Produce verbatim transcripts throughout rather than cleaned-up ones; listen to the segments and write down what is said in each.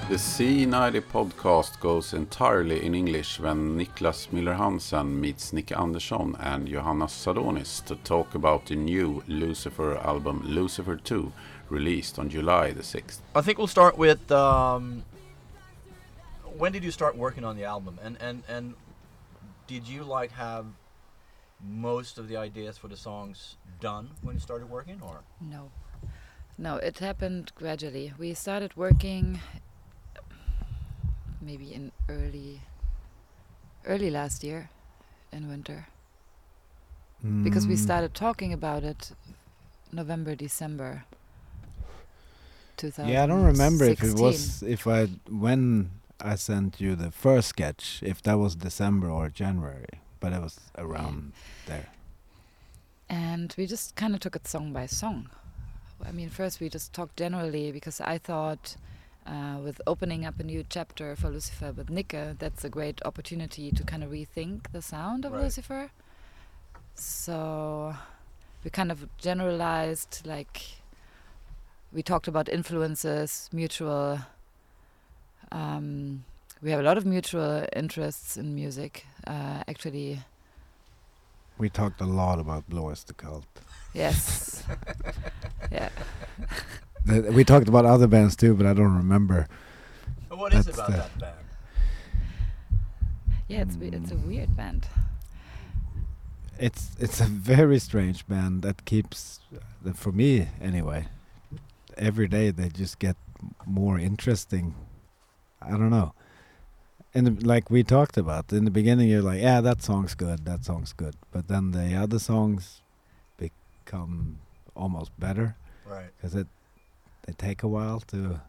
The C ninety podcast goes entirely in English when Niklas Miller-Hansen meets Nick Andersson and Johannes Sadonis to talk about the new Lucifer album Lucifer two, released on July the sixth. I think we'll start with um, when did you start working on the album, and, and, and did you like have most of the ideas for the songs done when you started working, or? No. No, it happened gradually. We started working maybe in early early last year in winter. Mm. Because we started talking about it November, December two thousand sixteen. Yeah, I don't remember if it was if I when I sent you the first sketch, if that was December or January, but it was around yeah. there. And we just kind of took it song by song. I mean, first we just talked generally because I thought uh, with opening up a new chapter for Lucifer with Nicke, that's a great opportunity to kind of rethink the sound of right. Lucifer. So we kind of generalized, like, we talked about influences, mutual, um, we have a lot of mutual interests in music, uh, actually. We talked a lot about Blås the Cult. Yes. yeah. The, we talked about other bands too, but I don't remember. What is it about that band? Yeah, it's mm. it's a weird band. It's it's a very strange band that keeps, uh, for me anyway, every day they just get more interesting. I don't know. And like we talked about, in the beginning you're like, yeah, that song's good, that song's good. But then the other songs become almost better. Right. Because it they take a while to,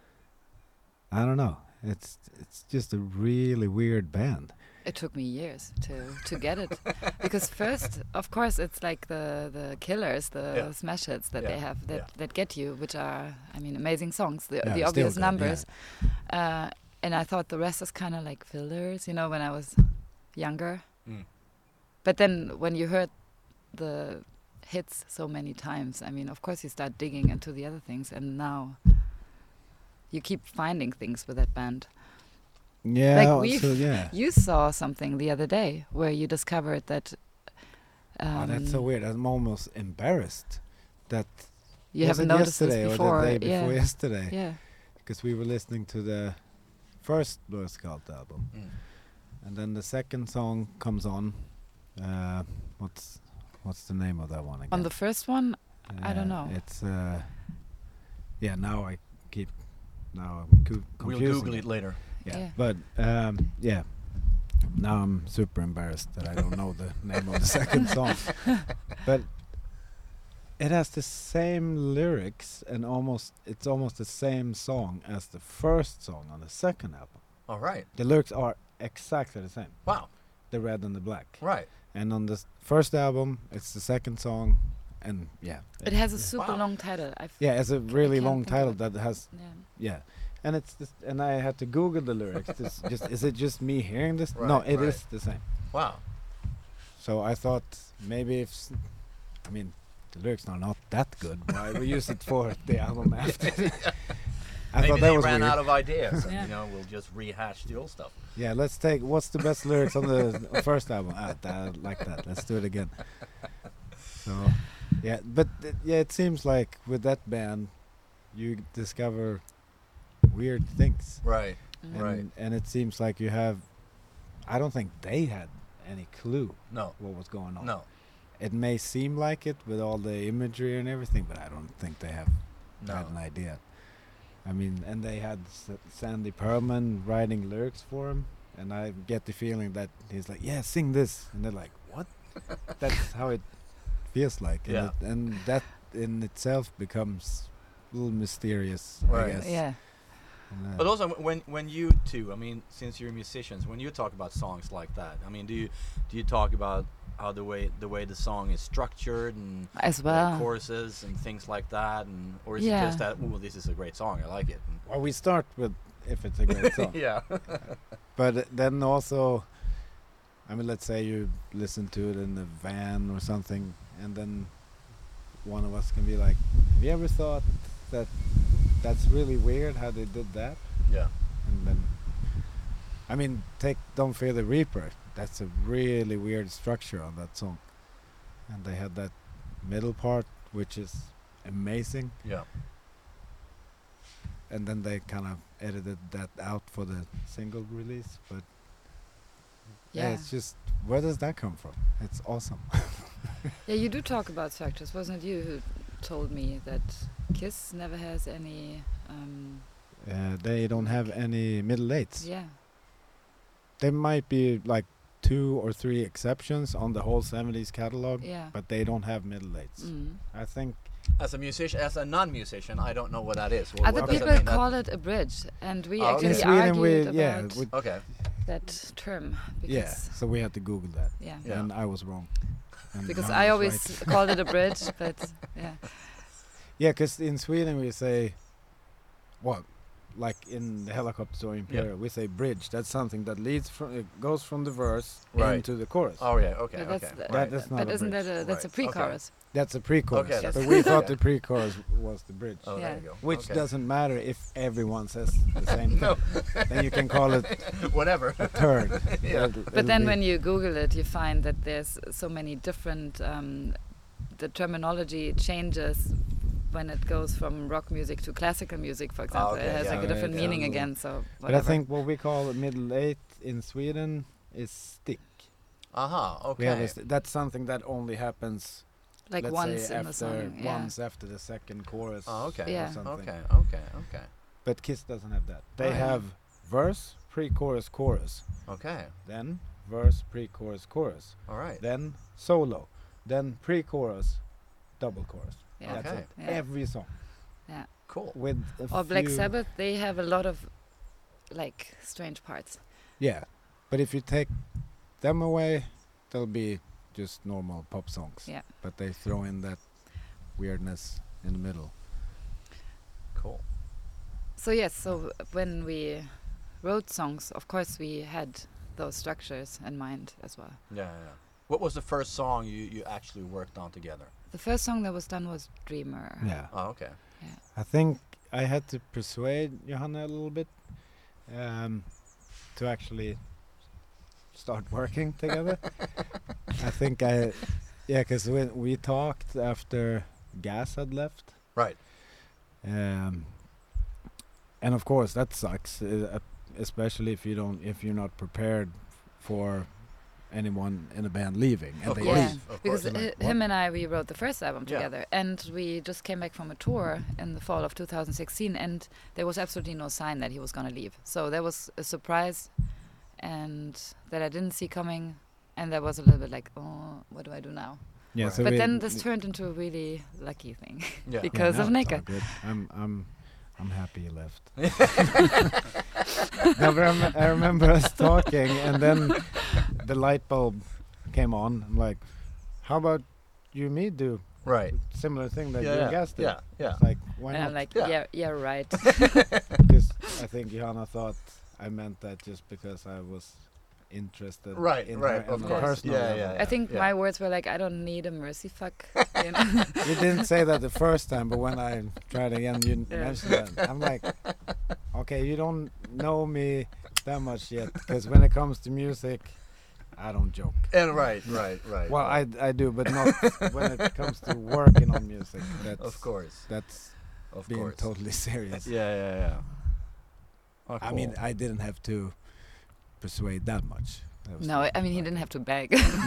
I don't know. It's it's just a really weird band. It took me years to, to get it. Because first, of course, it's like the, the killers, the yeah. smash hits that yeah. they have that, yeah. that get you, which are, I mean, amazing songs, the, yeah, the obvious good, numbers. Yeah. Uh, and I thought the rest is kind of like fillers, you know, when I was younger. Mm. But then when you heard the hits so many times, I mean, of course you start digging into the other things, and now you keep finding things with that band. Yeah, like we so yeah. You saw something the other day where you discovered that. Um, oh, that's so weird. I'm almost embarrassed that you haven't noticed this before. Or the day before yeah. yesterday. Yeah. Because we were listening to the first Blås the Cult album, mm. and then the second song comes on. Uh, what's what's the name of that one again? On the first one, uh, I don't know. It's uh, yeah. Now I keep now I'm co- confusing. We'll Google it later. Yeah. yeah, but um, yeah, now I'm super embarrassed that I don't know the name of the second song. But it has the same lyrics and almost it's almost the same song as the first song on the second album. All right. The lyrics are exactly the same. Wow. The red and the black. Right. And on the s- first album, it's the second song, and yeah. It has a super wow. long title. I've yeah, it's a really long title that has yeah. yeah. And it's just, and I had to Google the lyrics. Just, just is it just me hearing this? Right, no, it right. is the same. Wow. So I thought maybe if, s- I mean, the lyrics are not that good. Why we use it for the album after? I Maybe thought that they was ran weird. out of ideas. And, Yeah. you know, we'll just rehash the old stuff. Yeah, let's take what's the best lyrics on the first album. Ah, that, like that. Let's do it again. So, yeah, but th- yeah, it seems like with that band, you discover weird things. Right. Mm. And, Right. and it seems like you have, I don't think they had any clue No. what was going on. No. It may seem like it with all the imagery and everything, but I don't think they have No. had an idea. I mean, and they had S- Sandy Pearlman writing lyrics for him, and I get the feeling that he's like, yeah, sing this. And they're like, what? That's how it feels like. And, Yeah. it, and that in itself becomes a little mysterious, Right. I guess. Yeah. And, uh, But also, w- when when you two, I mean, since you're musicians, when you talk about songs like that, I mean, do you do you talk about how the way the way the song is structured and As uh, well. choruses and things like that, and or is it Yeah. just that, oh, this is a great song, I like it? And well, we start with if it's a great song. yeah. But uh, then also, I mean, let's say you listen to it in the van or something, and then one of us can be like, have you ever thought that that's really weird how they did that? Yeah. And then, I mean, take Don't Fear the Reaper. That's a really weird structure on that song. And they had that middle part, which is amazing. Yeah. And then they kind of edited that out for the single release. But yeah, Yeah. it's just, where does that come from? It's awesome. Yeah, you do talk about structures. Wasn't it you who told me that Kiss never has any? Um, Uh, they don't have any middle eights. yeah. There might be like two or three exceptions on the whole seventies catalog, Yeah. but they don't have middle eights. Mm. I think As a musician, as a non-musician, I don't know what that is. What, Other what does people that mean? call it a bridge, and we Oh, okay. actually in Sweden argued we yeah about we, That, okay. that term because yeah. So we had to Google that, yeah, Yeah. and I was wrong. And because Johan I was always right. called it a bridge, but yeah, Yeah, because in Sweden we say, what, like in the Helicopter Story Imperial, we say bridge. That's something that leads from, it goes from the verse Right. into the chorus. Oh yeah. Okay. but that's okay. the, right. That- that's not but a isn't that bridge. a that's Right, a pre-chorus? That's a pre-chorus. Okay, that's- but we thought okay. the pre-chorus was the bridge, Oh, Yeah. there you go. which okay. doesn't matter if everyone says the same thing. No. Then you can call it Whatever. a third. Yeah. It'll- But it'll then be- when you Google it, you find that there's so many different. Um, the terminology changes when it goes from rock music to classical music, for example. okay, it has yeah, like a yeah, different yeah. meaning again. So, But I whatever. think what we call a middle eight in Sweden is stick. Aha. We have a Okay. st- that's something that only happens like let's once say in the after song. Yeah. once after the second chorus. Oh, okay. Yeah. Or something. Okay. Okay. Okay. But Kiss doesn't have that. They Right. have verse, pre-chorus, chorus, Okay. then verse, pre-chorus, chorus, All right. then solo, then pre-chorus, double chorus. Yeah. That's Okay. it. Yeah. Every song Yeah. Cool. with a Or Black few- Sabbath, they have a lot of like strange parts. Yeah, but if you take them away, they'll be just normal pop songs. Yeah. But they throw in that weirdness in the middle. Cool. So yes, so when we wrote songs, of course we had those structures in mind as well. Yeah. Yeah. What was the first song you you actually worked on together? The first song that was done was Dreamer. Yeah. Oh, okay. I think I had to persuade Johanna a little bit um, to actually start working together. I think I, yeah, because when we talked after Gas had left, Right. um, and of course that sucks, uh, uh, especially if you don't, if you're not prepared for anyone in a band leaving, and Of they course. Yeah, leave. Of because course. Like, uh, him and I, we wrote the first album Yeah. together, and we just came back from a tour in the fall of two thousand sixteen, and there was absolutely no sign that he was going to leave. So there was a surprise, and that I didn't see coming, and there was a little bit like, oh, what do I do now? Yeah, Right. so But we- then this turned into a really lucky thing Yeah. Yeah, because no, of it's Nika. all good. I'm I'm I'm happy you left. No, but I, rem- I remember us talking, and then the light bulb came on. I'm like, how about you and me do Right. similar thing that Yeah. you Yeah. and Gas did? Yeah. Yeah. It's like, why And not? I'm like, Yeah. yeah, yeah, right. Because I think Johanna thought I meant that just because I was interested Right. in Right. her Of on a course. personal Yeah. level. Yeah. I think yeah. my words were like, I don't need a mercy fuck. You know? You didn't say that the first time, but when I tried again, you Yeah. mentioned that. I'm like, okay, you don't know me that much yet, because when it comes to music, I don't joke. And right. Right. Right. Well, right. I I do, but not when it comes to working on music. That's Of course. that's Of being course. totally serious. Yeah. Yeah. Yeah. Oh, I mean, cool. I didn't have to persuade that much. That was No, I, fine. I mean, he didn't have to beg.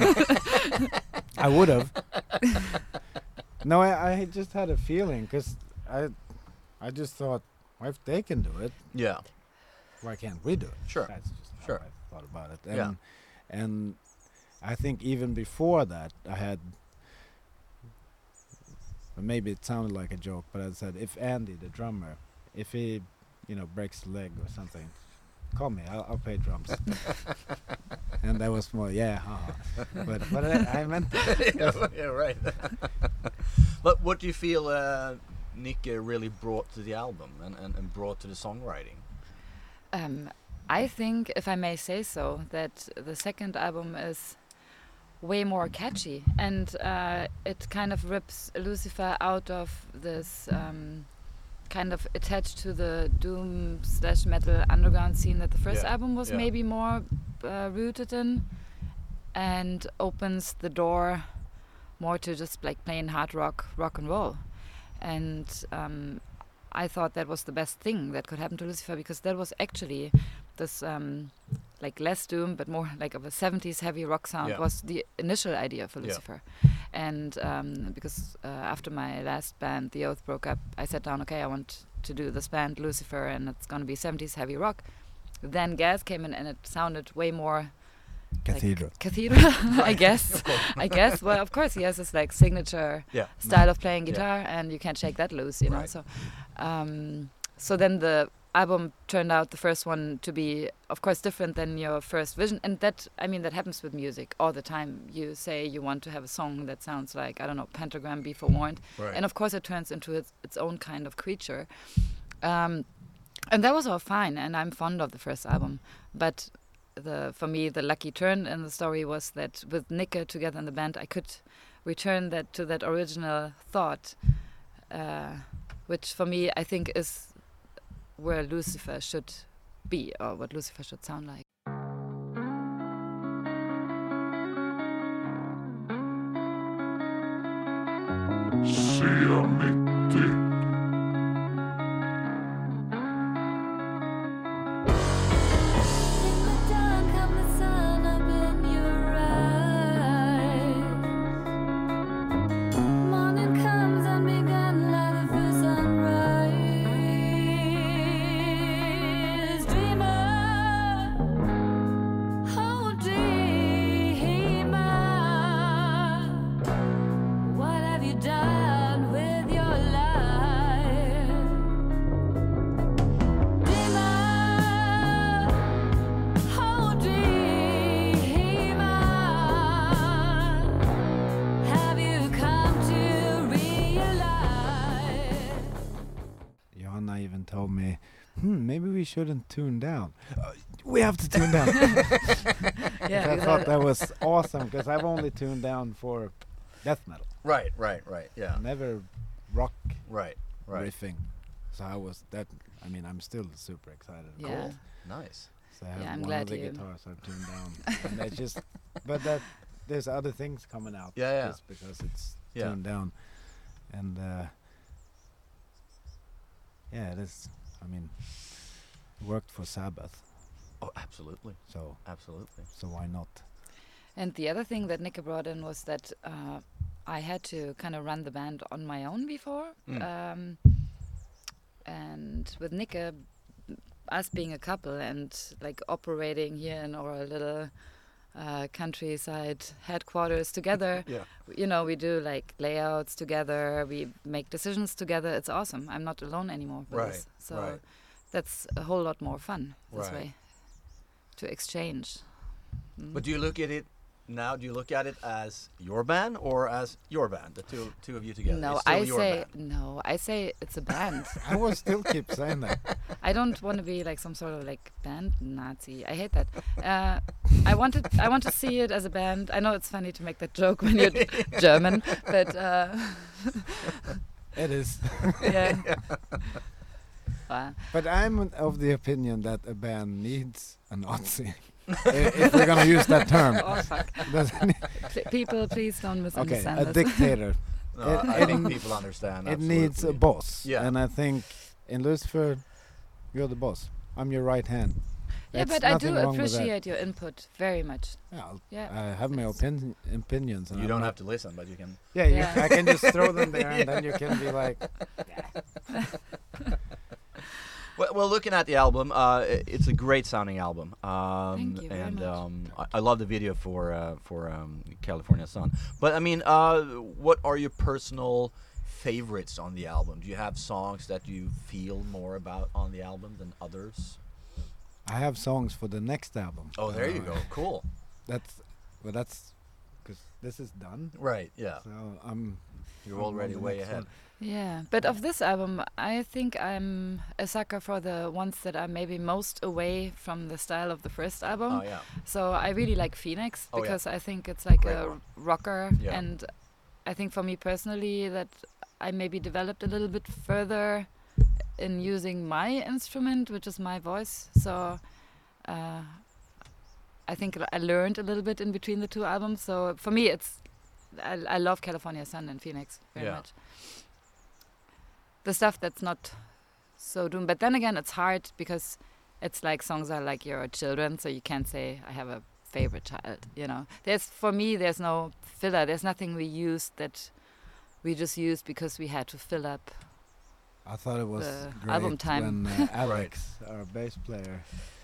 I would have. No, I, I just had a feeling, because I I just thought, well, if they can do it, Yeah. why can't we do it? Sure. That's just how Sure. I thought about it. And, Yeah. and I think even before that, I had, well, maybe it sounded like a joke, but I said, if Andy, the drummer, if he, you know, breaks a leg or something, call me, I'll, I'll play drums. And that was more, yeah, haha. But, but I, I meant that. yeah, yeah, right. But what do you feel uh, Nick uh, really brought to the album and, and, and brought to the songwriting? Um, I think, if I may say so, that the second album is way more catchy, and uh, it kind of rips Lucifer out of this um, kind of attached to the doom slash metal underground scene that the first Yeah, album was yeah. maybe more uh, rooted in, and opens the door more to just like plain hard rock, rock and roll. And um, I thought that was the best thing that could happen to Lucifer, because that was actually this um, like less doom but more like of a seventies heavy rock sound Yeah. was the initial idea for Yeah. Lucifer. And um, because uh, after my last band, The Oath, broke up, I sat down, okay, I want to do this band Lucifer, and it's going to be seventies heavy rock. Then Gaz came in and it sounded way more Cathedral. like cathedral, I guess. Of course. I guess. Well, of course, he has this like signature Yeah. style of playing Yeah. guitar, and you can't shake that loose, you know. Right. So, um, so then the album turned out, the first one, to be, of course, different than your first vision, and that, I mean, that happens with music all the time. You say you want to have a song that sounds like, I don't know, Pentagram, Be Forewarned, Right. and of course it turns into its, its own kind of creature. Um, and that was all fine, and I'm fond of the first album, but the for me the lucky turn in the story was that with Nicke together in the band, I could return that to that original thought, uh, which for me I think is where Lucifer should be, or what Lucifer should sound like. Johanna even told me, hmm, maybe we shouldn't tune down. Uh, we have to tune down. Yeah, I because thought I- that was awesome, because I've only tuned down for death metal, Right, right, right. Yeah. never rock Right, right. riffing. So I was that. I mean, I'm still super excited. about Yeah. it. Nice. So I have Yeah, I'm one glad of the you- guitars I've tuned down, and that's just. But that there's other things coming out. Yeah, yeah. Just because it's Yeah. tuned down, and uh, yeah, it is. I mean, it worked for Sabbath, Oh, absolutely, so absolutely. so why not? And the other thing that Nicke brought in was that uh, I had to kind of run the band on my own before. Mm. Um, and with Nicke, us being a couple and like operating here in our little uh, countryside headquarters together, Yeah. you know, we do like layouts together, we make decisions together. It's awesome. I'm not alone anymore with Right, this. So right. that's a whole lot more fun this Right. way to exchange. Mm. But do you look at it now? Do you look at it as your band or as your band? The two two of you together. No, It's still I your say band. no. I say it's a band. I will still keep saying that. I don't want to be like some sort of like band Nazi. I hate that. Uh, I wanted. I want to see it as a band. I know it's funny to make that joke when you're German, but uh, It is. yeah. Wow. But I'm of the opinion that a band needs a Nazi. I- if we're gonna use that term. Oh fuck! Doesn't it? Pl- people, please don't Okay, misunderstand a this. dictator. No, It- I it think n- people understand. It needs a absolutely. boss. Yeah. And I think in Lucifer, you're the boss. I'm your right hand. Yeah, That's but I nothing do wrong with that. appreciate your input very much. Yeah, I'll- Yeah. I have my It's- opin- opinions. And You I'm don't not- have to listen, but you can. Yeah, you, Yeah. I can just throw them there, and then you can be like, Well, well, looking at the album, uh, i- it's a great sounding album. Um, Thank you very and much. um, I, I love the video for uh, for um, California Sun. But I mean, uh, what are your personal favorites on the album? Do you have songs that you feel more about on the album than others? I have songs for the next album. Oh, there you Uh, go. Cool. That's well, that's because this is done. Right. Yeah. So I'm. You're I'm on already the way next ahead. one. Yeah, but of this album, I think I'm a sucker for the ones that are maybe most away from the style of the first album. Oh yeah. So I really like Phoenix Oh, yeah. because I think it's like Great a one. rocker, Yeah. and I think for me personally that I maybe developed a little bit further in using my instrument, which is my voice. So uh, I think I learned a little bit in between the two albums. So for me, it's I, I love California Sun and Phoenix very Yeah. much. The stuff that's not so doom, but then again, it's hard because it's like songs are like your children, so you can't say I have a favorite child. You know, there's for me, there's no filler. There's nothing we used that we just used because we had to fill up. I thought it was The great album time. when uh, Alex, our bass player,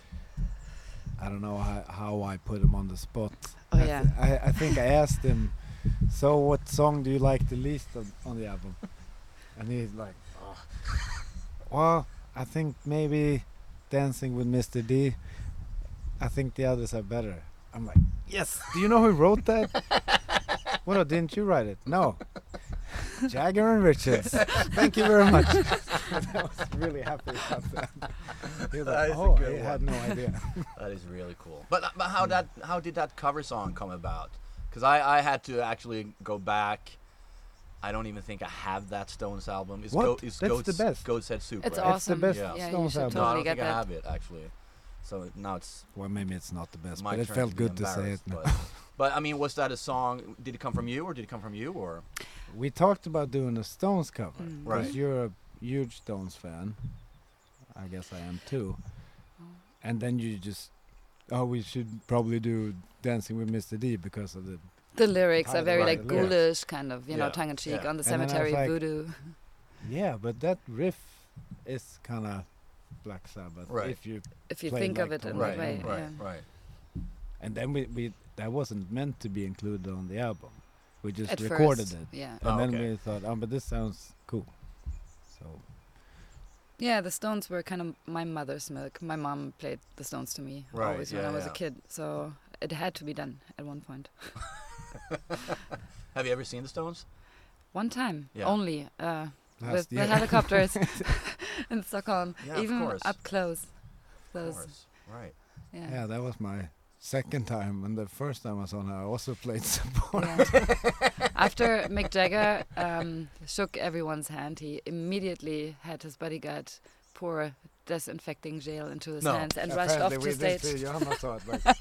I don't know how, how I put him on the spot. Oh, I, th- yeah. I, I think I asked him, so what song do you like the least on, on the album? And he's like, oh. Well, I think maybe Dancing with Mister D. I think the others are better. I'm like, yes. Do you know who wrote that? Well, no, didn't you write it? No. Jagger and Richards. Thank you very much. I was really happy about that. He was That like, is a oh, good I had one." no idea. That is really cool. But uh, but how that how did that cover song come about? Because I, I had to actually go back. I don't even think I have that Stones album. It's What? Go, it's That's Goat's, the best. Goat's Head Soup, It's right? awesome. best Yeah. Yeah, you Stones should album. No, I totally don't get think I that. have it actually. So now it's Well, maybe it's not the best, my but it turn felt to be good to say it. embarrassed, now. But, but I mean, was that a song? Did it come from you, or did it come from you, or? We talked about doing a Stones cover. Mm. Right. Because you're a huge Stones fan. I guess I am too. And then you just, oh, we should probably do Dancing with Mister D because of the. The lyrics are very Right, like the lyrics. ghoulish, kind of, you know, Yeah, tongue in cheek yeah. on the And then I was cemetery like- voodoo. Yeah, but that riff is kind of Black Sabbath. Right. If you If you play think of like it in Tom that Right, way. right, yeah. right. and then we, we that wasn't meant to be included on the album. We just At recorded first, it, yeah. and Oh, then okay. we thought, oh, but this sounds cool. So Yeah, the Stones were kind of my mother's milk. My mom played the Stones to me Right, always when yeah, I was yeah. a kid, so it had to be done at one point. Have you ever seen the Stones? One time Yeah. only, uh, last with the year. helicopters in Stockholm, Yeah, of even course. up close. Of Those, course. Right. yeah. Yeah, that was my second time, and the first time I was on, I also played support. Yeah. After Mick Jagger um, shook everyone's hand, he immediately had his bodyguard pour disinfecting gel into his No. hands and rushed off Apparently to we did stage. see Johanna saw it, like.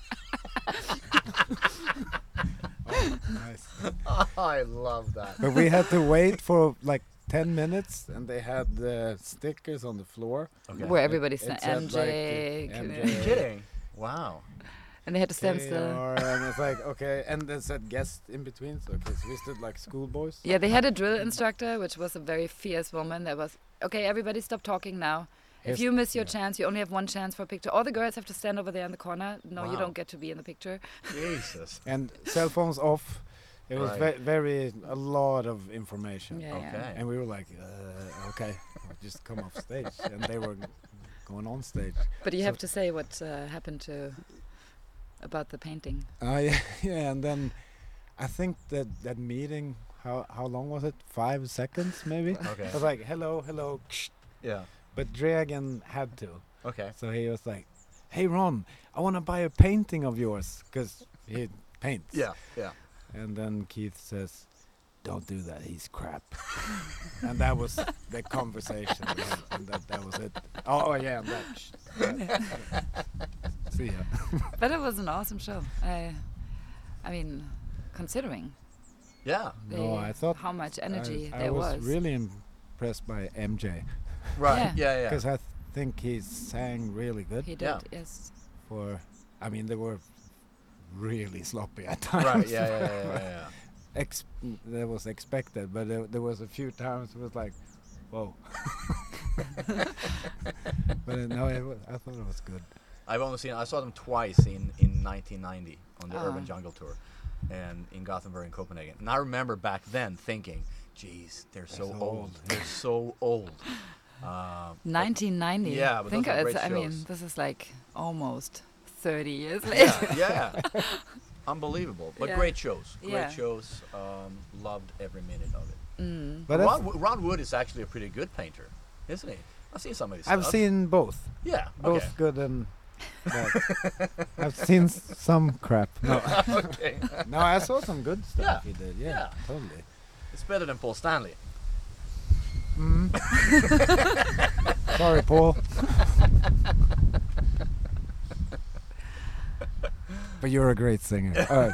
Oh, nice. I love that. But we had to wait for like ten minutes, and they had the stickers on the floor. Okay. Where everybody It said said, M J, like, uh, c- M J. Are you kidding? Wow. and they had to stand K still. R, and it's like, okay, and then said guest in between, so okay, so we stood like schoolboys. Yeah, they had a drill instructor, which was a very fierce woman. That was okay. Everybody, stop talking now. If Here's- you miss your yeah. chance, you only have one chance for a picture. All the girls have to stand over there in the corner. No, you Wow. don't get to be in the picture. Jesus. And cell phones off. It was Right. ve- very, a lot of information. Yeah, Okay. yeah. And we were like, uh, okay, I'll just come off stage. And they were going on stage. But you So- have to say what uh, happened to about the painting. Uh, yeah, yeah, and then I think that that meeting, how how long was it? Five seconds, maybe? Okay. I was like, hello, hello. Yeah. But Dragon had to. Okay. So he was like, hey, Ron, I want to buy a painting of yours. Because he paints. Yeah. Yeah. And then Keith says, don't do that, he's crap. And that was the conversation we had, and that, that was it. Oh, yeah, and that. sh- that- See ya. But it was an awesome show. I, I mean, considering Yeah. No, the- I thought how much energy I, there I was, was. really impressed by M J. Right. Yeah. Yeah. Yeah. Because I th- think he sang really good. He did, Yeah. yes. For, I mean, they were really sloppy at times. Right. Yeah. Yeah. Yeah. Yeah. yeah. Ex- that was expected, but there, there was a few times it was like, whoa. But uh, no, it wa- I thought it was good. I've only seen. I saw them twice in in nineteen ninety on the Ah. Urban Jungle Tour, and in Gothenburg and Copenhagen. And I remember back then thinking, "Geez, they're so, so old. old." They're so old." Um, nineteen ninety. Yeah, but Think those were it's, great I mean, shows. this is like almost thirty years later. yeah, yeah. Unbelievable, but Yeah. great shows. Great Yeah. shows. Um, loved every minute of it. Mm. But that's- Ron, Wo- Ron Wood is actually a pretty good painter, isn't he? I've seen some of his I've stuff. seen both. Yeah. Both Okay. good and bad. I've seen s- some crap. No, okay. no, I saw some good stuff Yeah, he did. Yeah, yeah. totally. It's better than Paul Stanley. Mm. Sorry, Paul. But you're a great singer. Uh,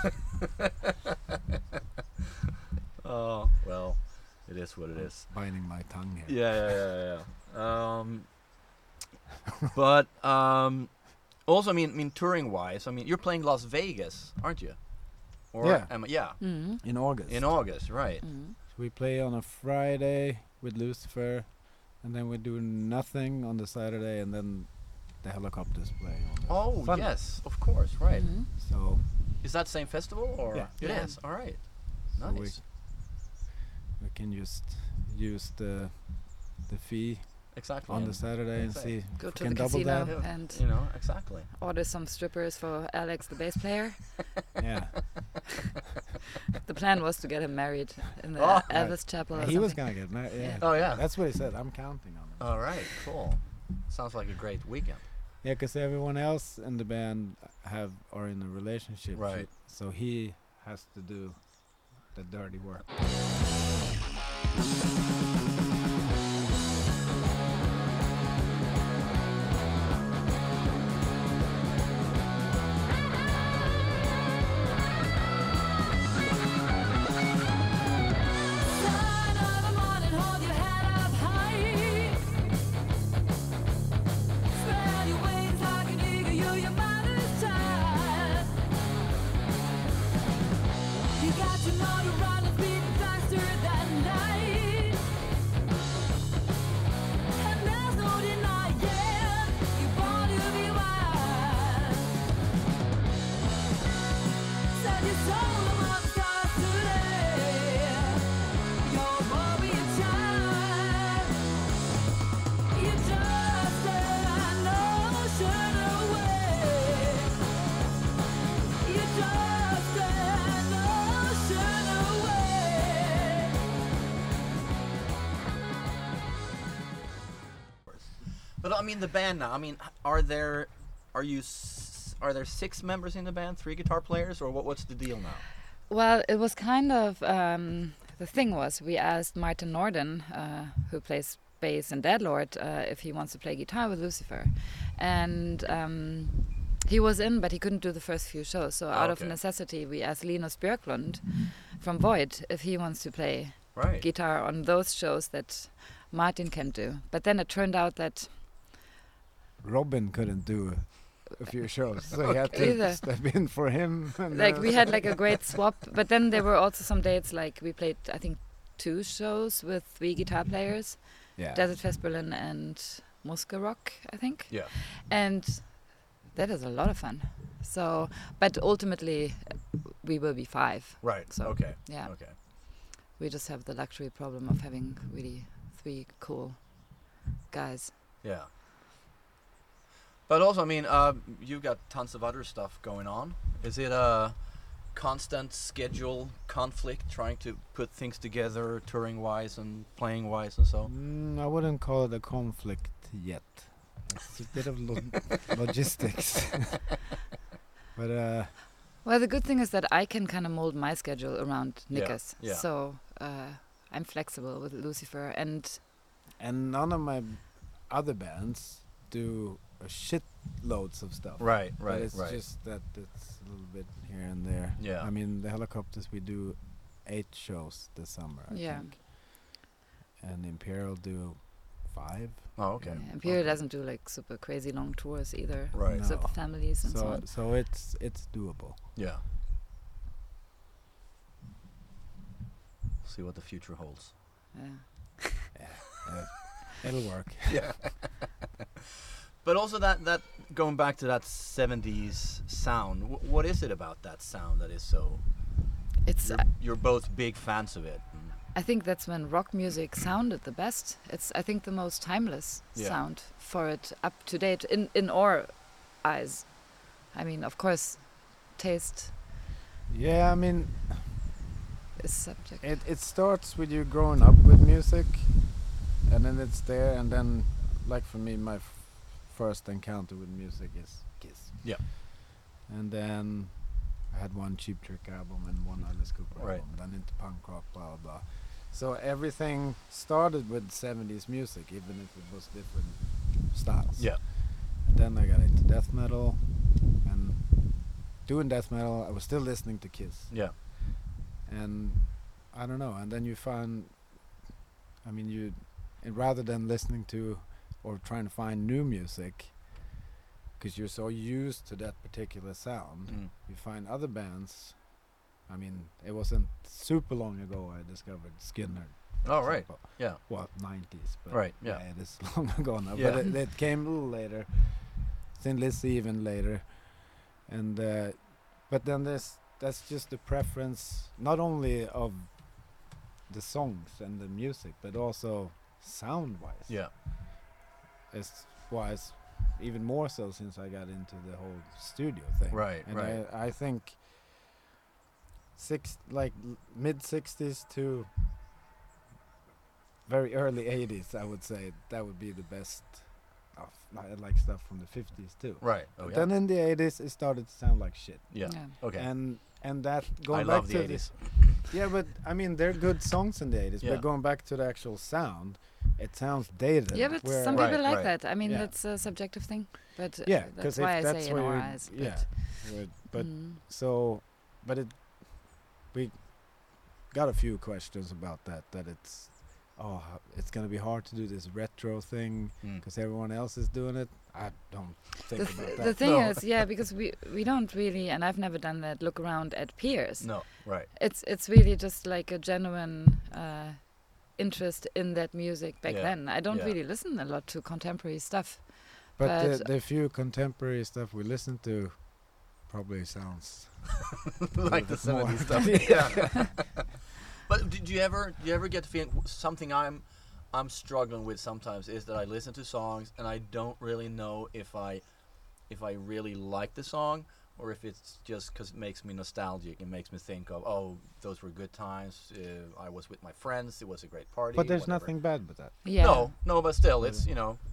Oh, well, it is what it is. biting my tongue here. Yeah, yeah, yeah, yeah. Um, but um, also, I mean, I mean, touring-wise, I mean, you're playing Las Vegas, aren't you? Or Yeah. am I- yeah. Mm. In August. In August, right? Mm. We play on a Friday with Lucifer, and then we do nothing on the Saturday, and then the Helicopters play on the Oh, Sunday. yes, of course, right. Mm. So, Is that same festival or Yeah. it is? Yeah. All right, so we, nice. we can just use the the fee Exactly. on the and, Saturday and Exactly. see Go if to we the can double casino down. Yeah, and you know, exactly. order some strippers for Alex, the bass player. Yeah, The plan was to get him married in the Oh. Elvis Chapel. Or he was something. gonna get married. Yeah. Oh yeah. That's what he said. I'm counting on him. All right, cool. Sounds like a great weekend. Yeah, because everyone else in the band have are in a relationship. so- Right. So he has to do the dirty work. Sign of the morning, hold your head up high. Spread your wings like an eagle, you're your mother's child. You got your motor running, beating faster than light. And there's no denying you're born to be wild. Set your soul among the stars today. You're more be a child. You're just an ocean away. You're just an ocean away. But I mean, the band now. I mean, h- are there, are you, s- are there six members in the band, three guitar players, or what? What's the deal now? Well, it was kind of um, the thing was we asked Martin Norden, uh, who plays bass in Deadlord, uh, if he wants to play guitar with Lucifer, and um, he was in, but he couldn't do the first few shows. So out of Okay. necessity, we asked Linus Björklund from Void if he wants to play Right. guitar on those shows that Martin can do. But then it turned out that Robin couldn't do a few shows, so he had to Either. step in for him. and like then- we had like a great swap, but then there were also some dates like we played I think two shows with three guitar players, yeah. Desert Fest Berlin and Muska Rock, I think, Yeah. and that is a lot of fun. So, but ultimately uh, we will be five. Right. So, okay. Yeah, Okay. we just have the luxury problem of having really three cool guys. Yeah. But also, I mean, uh, you've got tons of other stuff going on. Is it a constant schedule conflict trying to put things together, touring wise and playing wise and so? Mm, I wouldn't call it a conflict yet. It's a bit of lo- logistics. But uh, Well, the good thing is that I can kind of mold my schedule around Yeah, Nick's. yeah. So uh, I'm flexible with Lucifer. And and none of my other bands do a shit loads of stuff. Right, But right, it's right. just that it's a little bit here and there. Yeah. I mean, the Helicopters, we do eight shows this summer, I Yeah. think. And Imperial do five. Oh, okay. yeah, Imperial Okay. doesn't do like super crazy long tours either. Right. With No. families and so, So on. so it's it's doable. Yeah. See what the future holds. Yeah. Uh, it'll work. Yeah. But also that that going back to that seventies sound. W- what is it about that sound that is so? It's. You're, Uh, you're both big fans of it. and- I think that's when rock music sounded the best. It's I think the most timeless Yeah. sound for it, up to date in in our eyes. I mean, of course, taste Yeah, I mean, is subject. it it starts with you growing up with music, and then it's there, and then, like for me, my f- first encounter with music is Kiss. Yeah. And then I had one Cheap Trick album and one Alice Cooper Right. album, then into punk rock, blah blah blah. So everything started with seventies music, even if it was different styles. Yeah. And then I got into death metal, and doing death metal, I was still listening to Kiss. Yeah. And I don't know. And then you find, I mean, you, and rather than listening to or trying to find new music, because you're so used to that particular sound, Mm. you find other bands. I mean, it wasn't super long ago I discovered Skinner. Oh, for right. example. Yeah. Well, nineties. But Right, yeah. it is long ago now. Yeah. But it, it came a little later. Thin Lizzy even later. And uh, but then there's that's just the preference, not only of the songs and the music, but also sound-wise. Yeah. It's wise, even more so since I got into the whole studio thing. Right, And right. I, I think six like l- mid sixties to very early eighties, I would say that would be the best. Of, I like stuff from the fifties too. Right. Oh, But yeah. then in the eighties, it started to sound like shit. Yeah. Yeah. Okay. And and that going I back love to the eighties. yeah, but I mean they're good songs in the eighties. Yeah. But going back to the actual sound, it sounds dated. Yeah, but where- some Right, people like right. that. I mean, Yeah. that's a subjective thing. But uh, yeah, that's because why I that's say in where our you- eyes. But yeah, but, but mm. so, but it, we got a few questions about that. That it's, oh, h- it's gonna be hard to do this retro thing Mm. because everyone else is doing it. I don't think the, about th- that. the thing No. is, yeah, because we we don't really, and I've never done that. Look around at peers. No. Right. It's it's really just like a genuine uh, interest in that music back Yeah, then. I don't yeah. really listen a lot to contemporary stuff. But but- the, the few contemporary stuff we listen to probably sounds Like the bit more. seventies stuff. Yeah. But did you ever do you ever get the feeling w- something I'm I'm struggling with sometimes is that I listen to songs and I don't really know if I if I really like the song or if it's just because it makes me nostalgic. It makes me think of, oh, those were good times. Uh, I was with my friends. It was a great party. but there's whatever. nothing bad with that. Yeah. No, no, but still, it's Yeah. you know,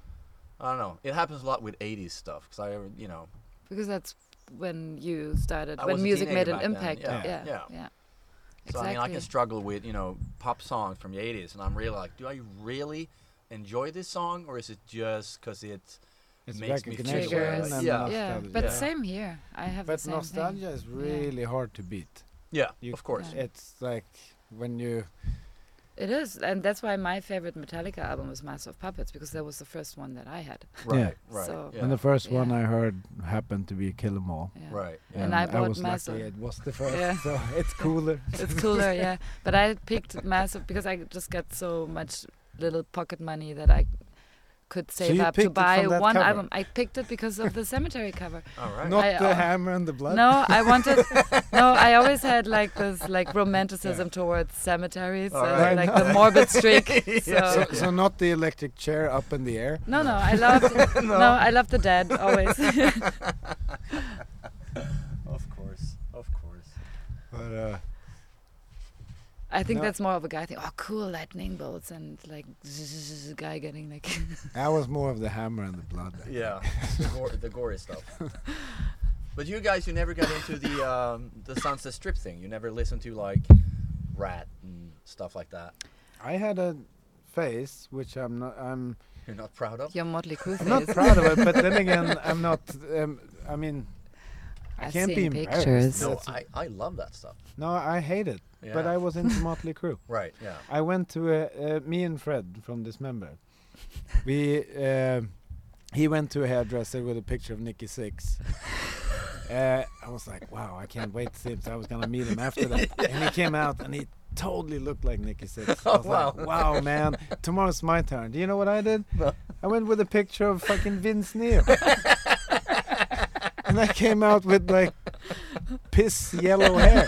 I don't know. It happens a lot with eighties stuff because I, you know, Because that's when you started, I when was a music made teenager an back then, impact. yeah, Yeah. yeah. yeah. so I mean, I Exactly. can struggle with you know pop songs from the eighties, and I'm really like, do I really enjoy this song, or is it just because it? It's Makes me feel recognition Triggers. and Yeah. Yeah, nostalgia. but Yeah. same here. I have But the same nostalgia thing. is really hard to beat. Yeah, You- of course. Yeah. It's like when you It is, and that's why my favorite Metallica album was Master of Puppets, because that was the first one that I had. Right, Yeah. right. So- yeah. and the first one Yeah. I heard happened to be Kill 'Em All. Yeah. right. Yeah. And I bought was Massive. lucky it was the first, Yeah. so it's cooler. It's cooler, yeah. But I picked Massive because I just got so much little pocket money that I could save you up to picked it buy from that one cover? album. I picked it because of the Cemetery cover. All right. Not I, the uh, hammer and the blood. No, I wanted. No, I always had like this like romanticism towards cemeteries, All uh, right. like the morbid streak. So, So, so not the electric chair up in the air. no, no, I loved. no. I love the dead always. Of course, of course. But uh, I think No. that's more of a guy thing. Oh, cool lightning bolts and like zzz, guy getting like. I was more of the hammer and the blood. I Yeah, the, gore, the gory stuff. But you guys, you never got into the um, the Sunset Strip thing. You never listened to like Rat and stuff like that. I had a face which I'm not. I'm. You're not proud of. Your Motley Crue I'm not face. proud of it, but then again, I'm not. Um, I mean, I I've can't be seen embarrassed. pictures. No, That's- I, I love that stuff. no, I hate it. But Yeah. I was into Motley Crue. Right. Yeah. I went to a, uh, me and Fred from Dismember. We uh, he went to a hairdresser with a picture of Nicky Six. Uh, I was like, wow, I can't wait to see him. So I was gonna meet him after that, and he came out and he totally looked like Nicky Six. I Oh, was like, wow, man, tomorrow's my turn. Do you know what I did? No. I went with a picture of fucking Vince Neil. And I came out with like piss yellow hair.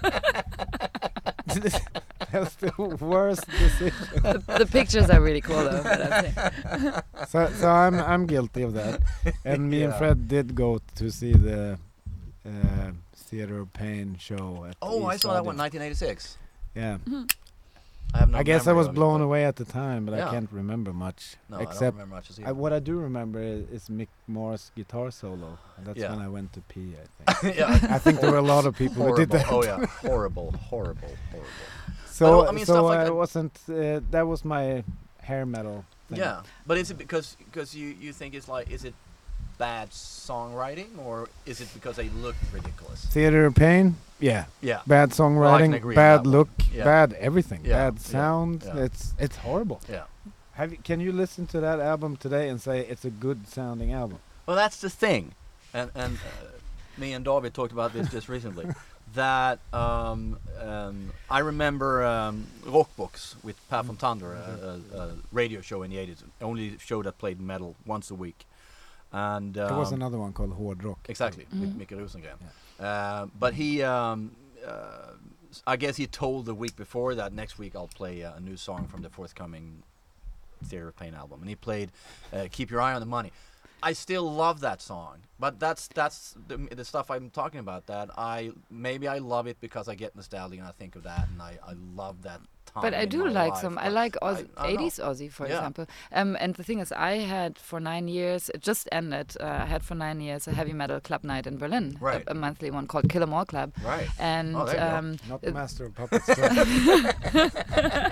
That was the worst decision. the, the pictures are really cool though. But I'm saying. So, so I'm I'm guilty of that. And me and Yeah. Fred did go to see the uh, Theater of Pain show. At Oh, I East saw that one, Audience. nineteen eighty-six. Yeah, I have no I guess I memory was of it, blown but- away at the time, but Yeah. I can't remember much. No, I don't except remember much. I, what I do remember is, is Mick Moore's guitar solo. And that's Yeah. when I went to pee. I think. yeah. I think there were a lot of people who did Horrible. that. Oh yeah, horrible, horrible, horrible. So I mean, so stuff like I that- wasn't. Uh, that was my hair metal thing. Yeah, but is it because because you you think it's like, is it bad songwriting, or is it because they look ridiculous? Theater of Pain. Yeah. Yeah. Bad songwriting, agree with bad that one. look, Yeah. bad everything, Yeah, bad yeah, sound. yeah. It's it's horrible. Yeah. Have you, can you listen to that album today and say it's a good sounding album? Well, that's the thing, and and uh, me and David talked about this just recently. That um, um, I remember um, Rockbox with Per von Thunder, a, a, a radio show in the eighties, only show that played metal once a week, and um, There was another one called Hård Rock. exactly with Mhm. Micke Rosengren. Uh, but he, um, uh, I guess he told the week before that next week I'll play uh, a new song from the forthcoming Theater of Pain album, and he played uh, "Keep Your Eye on the Money." I still love that song, but that's that's the, the stuff I'm talking about. That I maybe I love it because I get nostalgic and I think of that, and I, I love that time. But I in do my like life, some. I but like Oz- I- I don't know. eighties Aussie, for Yeah. example. Um, and the thing is, I had for nine years. It just ended. Uh, I had for nine years a heavy metal club night in Berlin, a- Right. a, monthly one called Kill 'Em All Club. Right. And Oh, there you go. um, Not Uh, Master of Puppets. Club.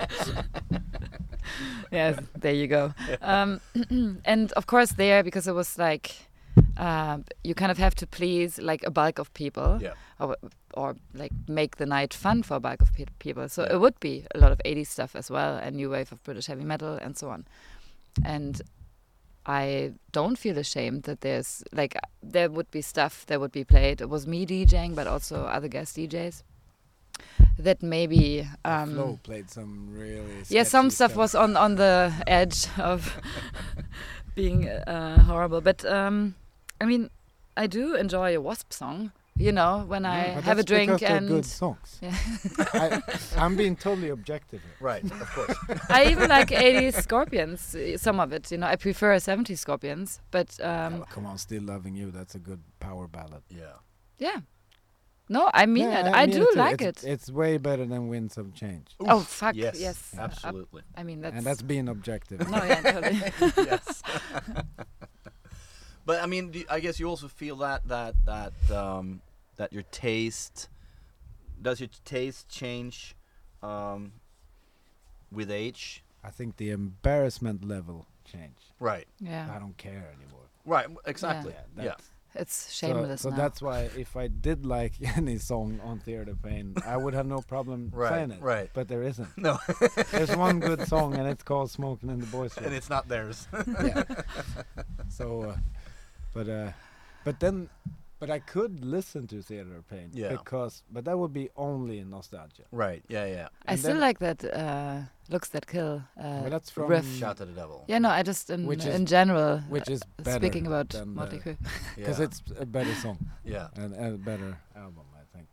yes, there you go. Um, and of course, there, because it was like, uh, you kind of have to please like a bulk of people, Yeah. or, or like make the night fun for a bulk of pe- people. So Yeah. it would be a lot of eighties stuff as well, and new wave of British heavy metal and so on. And I don't feel ashamed that there's like there would be stuff that would be played. It was me DJing, but also other guest D Js. That maybe um, Flo played some really. yeah, some sketchy stuff was on on the edge of being uh, horrible. But um, I mean, I do enjoy a Wasp song. You know, when I But have a that's drink because they're and good songs. Yeah. I, I'm being totally objective here. Right. Of course. I even like eighties Scorpions. uh, Some of it, you know, I prefer seventies Scorpions. But um, Oh, come on, Still Loving You. That's a good power ballad. yeah. yeah, no, I mean Yeah, it. I, mean do too. like it's, it. It's way better than Winds of Change. Oh fuck Yes. yes, Uh, Absolutely. I mean that's. And that's being objective. no, yeah, totally. yes. But I mean, do, I guess you also feel that that that um, that your taste does your taste change um, with age? I think the embarrassment level changed. Right. Yeah, I don't care anymore. Right. w- Exactly. Yeah, Yeah. that's- it's So, shameless so now. that's why if I did like any song on Theater of Pain, I would have no problem Right. playing it. Right. But there isn't. No. There's one good song and it's called Smoking in the Boys' Room. And it's not theirs. yeah. So, uh, but uh, but then, but I could listen to Theater of Pain Yeah. because, but that would be only nostalgia. Right. Yeah. Yeah. I and still then- like that uh, "Looks That Kill" uh, Well, that's from riff. Shout to the devil. Yeah, no, I just in, Which is- in general, which is uh, better speaking about than Motley the- Crue. because Yeah. it's a better song Yeah. and a better album, I think.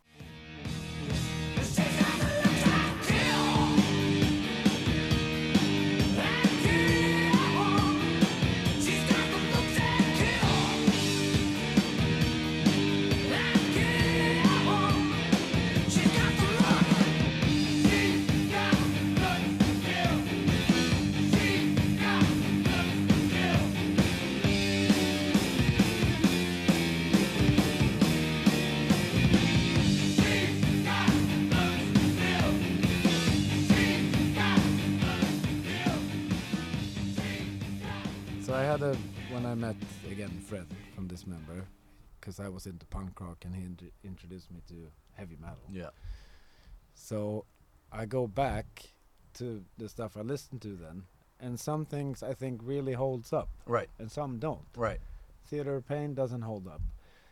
So I had a when I met again Fred from Dismember, because I was into punk rock and he int- introduced me to heavy metal. Yeah. So I go back to the stuff I listened to then, and some things I think really holds up, Right. and some don't. Right. Theater of Pain doesn't hold up.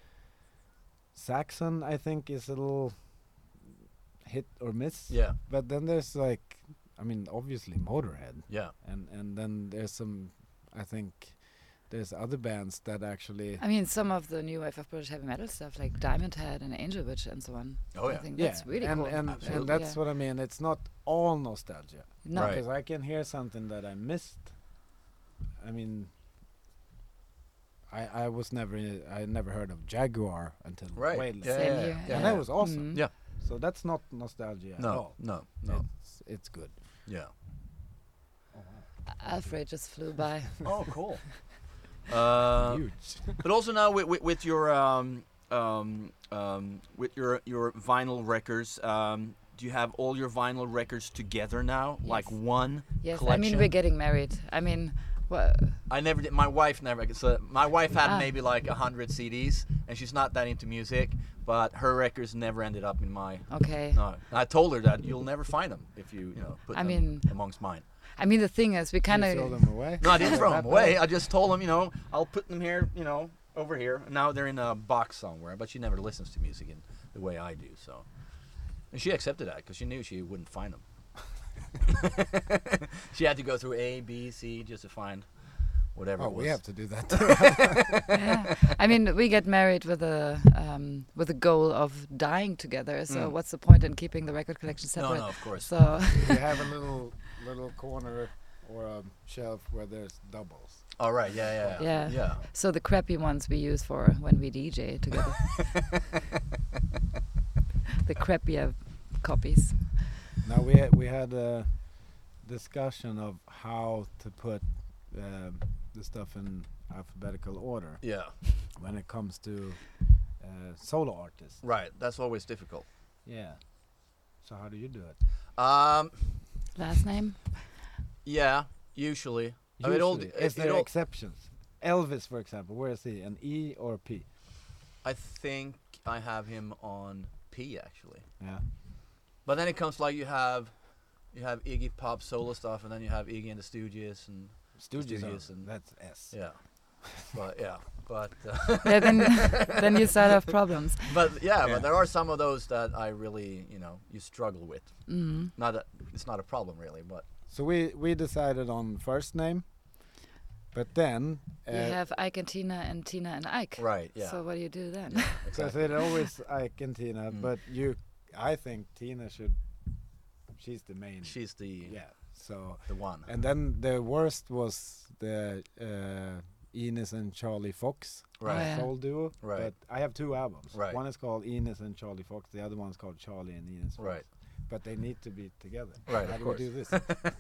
Saxon I think is a little hit or miss. Yeah. But then there's like, I mean, obviously Motorhead, Yeah. and and then there's some, I think, there's other bands that actually. I mean, some of the new wave of British heavy metal stuff, like Diamond Head and Angel Witch and so on. Oh, I yeah. think Yeah, that's really and cool. and, Absolutely. and that's Yeah. what I mean. It's not all nostalgia, No, Right. because I can hear something that I missed. I mean, I I was never I never heard of Jaguar until Right. way later. Yeah. Same Yeah. here, yeah. And that was awesome. Mhm. Yeah. So that's not nostalgia at No. all. No. No. It's, it's good. Yeah. Alfred just flew by. Oh, cool. Uh, Huge. but also now with, with, with your um, um, um, with your your vinyl records, um, do you have all your vinyl records together now, like Yes. one Yes, collection? I mean we're getting married. I mean, well, I never did. My wife never. So my wife had Ah. maybe like a hundred C Ds, and she's not that into music. But her records never ended up in my. okay. No, I told her that you'll never find them if you, you know, put I them mean- amongst mine. I mean the thing is, we kind You throw of them away. No, I didn't throw That them away. bad? I just told them, you know, I'll put them here, you know, over here. And now they're in a box somewhere. But she never listens to music in the way I do. So, and she accepted that because she knew she wouldn't find them. She had to go through A, B, C just to find whatever. Oh, it was. we have to do that too. yeah. I mean, we get married with a um, with a goal of dying together. So Mm. what's the point in keeping the record collection No, separate? no, of course. So You have a little little corner or a shelf where there's doubles. All right. Yeah, yeah, Yeah. yeah. so the crappy ones we use for when we D J together. The crappier copies. Now we had, we had a discussion of how to put um, the stuff in alphabetical order Yeah. when it comes to uh, solo artists. Right. That's always difficult. Yeah. So how do you do it? Um. Last name? Yeah. Usually. I mean, it all Usually, d- is it- it there all- exceptions? Elvis, for example, where is he? An E or a P? I think I have him on P actually. Yeah. But then it comes like you have, you have Iggy Pop solo stuff, and then you have Iggy and the Stooges, and Stooges, Stooges are- and- that's S. yeah. But yeah. But uh, Yeah, then then you start have problems. but yeah, Yeah. But there are some of those that I really, you know, you struggle with. Mm. Not that it's not a problem really, but So we we decided on first name, but then uh, You have Ike and Tina and Tina and Ike. right. Yeah. So what do you do then? because exactly. it always Ike and Tina, Mm. but you, I think Tina should. She's the main. She's the yeah. So the one. and then the worst was the uh, Ines and Charlie Fox Right. yeah. soul duo. Right. But I have two albums. Right. One is called Ines and Charlie Fox. The other one's called Charlie and Ines. Fox. Right. But they need to be together. Right, How of do course. we do this?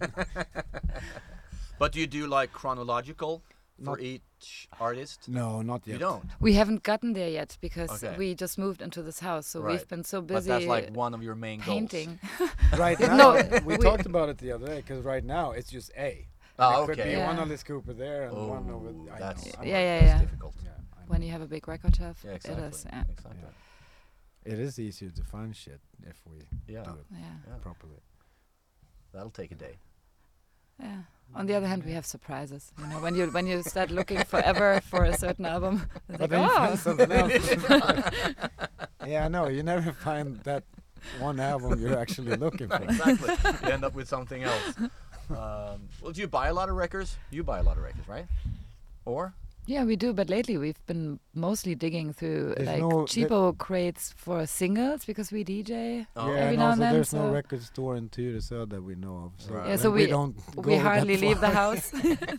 But do you do like chronological for Not- each artist? No, not yet. You don't. We haven't gotten there yet because Okay. we just moved into this house, so Right. we've been so But busy that's like one of your main painting. Right now, No, we we- talked about it the other day because right now it's just A. Oh, And it could okay. be one Yeah. Alice Cooper there and one over. Oh, I that's know. Yeah, I'm- yeah, that's yeah. difficult. yeah, I When know. you have a big record shelf, Yeah, exactly. it is. Yeah. Exactly. Yeah. It is easier to find shit if we Yeah. do it Yeah. Yeah. properly. That'll take a day. Yeah. On the other hand, we have surprises. You know, when you when you start looking forever for a certain album, it's But like, then you oh, find something else. Yeah, I know. You never find that one album you're actually looking for. Exactly. You end up with something else. Um, well, do you buy a lot of records? You buy a lot of records, right? Or? yeah, we do. But lately, we've been mostly digging through There's like no- there- cheapo crates for singles because we D J. Oh. Yeah, Every and now also and then, there's no so- record store in Tyresö that we know of. So, Right. Yeah, when so we, we- don't We go that hardly leave the far. house.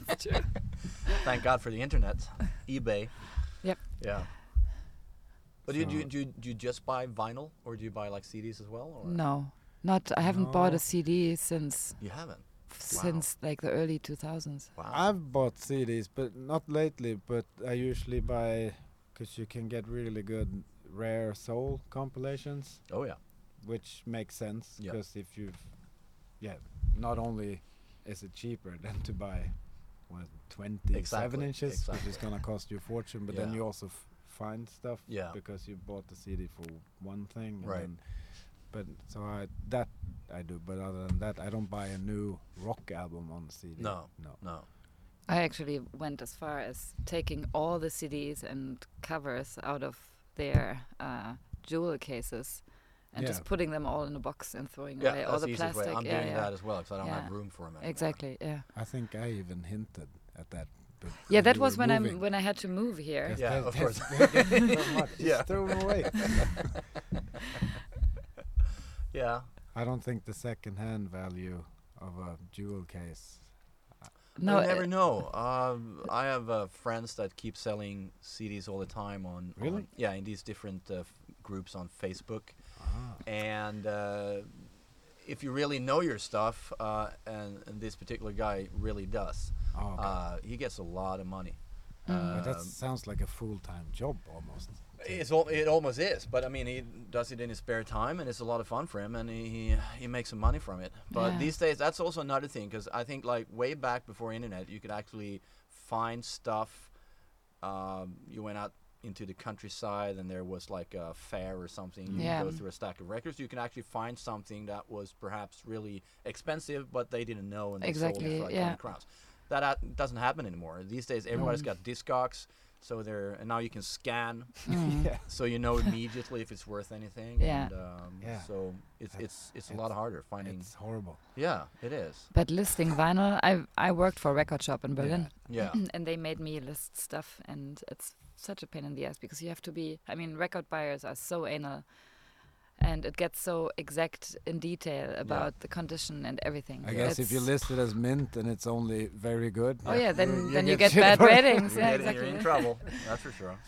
Thank God for the internet, eBay. Yep. Yeah. But do you, do, you, So- do, you, do you just buy vinyl, or do you buy like C Ds as well? Or? No, not. I haven't bought No. a C D since You haven't. since like the early two thousands. Wow. I've bought C Ds, but not lately. But I usually buy because you can get really good rare soul compilations, oh yeah. which makes sense. Yeah. Because if you've, yeah, not only is it cheaper than to buy, what, twenty-seven Exactly, inches, exactly. which is gonna cost you a fortune. But then Yeah. you also f- find stuff Yeah. because you bought the C D for one thing. And Right. then but so I that I do. But other than that, I don't buy a new rock album on C D. No. no. No. I actually went as far as taking all the C Ds and covers out of their uh, jewel cases and Yeah. just putting them all in a box and throwing Yeah, away that's all the the easiest way. plastic. I'm yeah, doing yeah. that as well because I don't have Yeah. room for them anymore. Exactly. Yeah. I think I even hinted at that. But Yeah, when that you was were when I moving. when I had to move here. Yes, Yeah, that- of that's- course. that's so much. Just Yeah. throw them away. Yeah. I don't think the second-hand value of a jewel case. No, you never uh, know. Um, I have uh, friends that keep selling C Ds all the time on, Really? on yeah, in these different uh, f- groups on Facebook. Ah. And uh, if you really know your stuff, uh, and, and this particular guy really does, Oh, okay. uh, he gets a lot of money. But that Um, sounds like a full-time job almost. It's al- it almost is, but I mean, he does it in his spare time, and it's a lot of fun for him, and he he, he makes some money from it. But Yeah. these days, that's also another thing, because I think like way back before internet, you could actually find stuff. Um, you went out into the countryside, and there was like a fair or something. You Yeah. could go through a stack of records. You can actually find something that was perhaps really expensive, but they didn't know, and they sold it Exactly, for like yeah. twenty crowns. That uh, doesn't happen anymore. These days, everybody's Mm. got Discogs. So there, and now you can scan, Mm. Yeah. so you know immediately if it's worth anything. Yeah. And, um, Yeah. So it's That's- it's it's a lot it's- harder finding. It's horrible. Yeah, it is. But listing vinyl, I I worked for a record shop in Berlin, Yeah. and they made me list stuff, and it's such a pain in the ass because you have to be. I mean, record buyers are so anal, and it gets so exact in detail about the condition and everything. I guess if you It's- list it as mint and it's only very good. Oh yeah, then you then you get get shit bad for it. ratings. You Yeah, get- exactly. You're in trouble. That's for sure.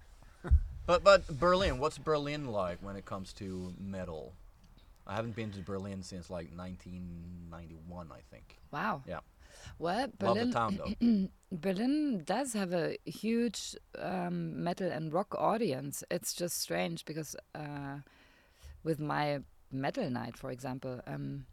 But but Berlin, what's Berlin like when it comes to metal? I haven't been to Berlin since like nineteen ninety-one, I think. Wow. Yeah. Well, Love the Berlin. town though. Berlin does have a huge um, metal and rock audience. It's just strange because uh, with my metal night, for example, um,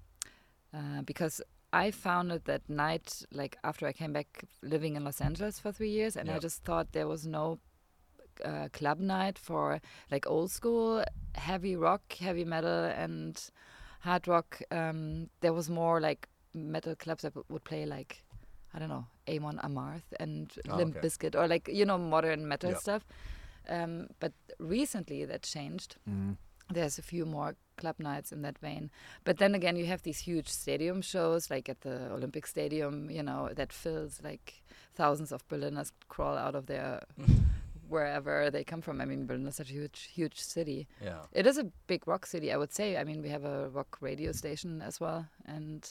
uh, because I founded that night like after I came back living in Los Angeles for three years, and Yeah. I just thought there was no uh, club night for like old school heavy rock, heavy metal, and hard rock. Um, there was more like metal clubs that w- would play like I don't know Amon Amarth and Oh, Limp okay. Bizkit or like you know modern metal Yeah. stuff. Um, but recently that changed. Mm. There's a few more club nights in that vein. But then again, you have these huge stadium shows, like at the Olympic Stadium, you know, that fills like thousands of Berliners crawl out of their wherever they come from. I mean, Berlin is such a huge, huge city. Yeah. It is a big rock city, I would say. I mean, we have a rock radio station as well, and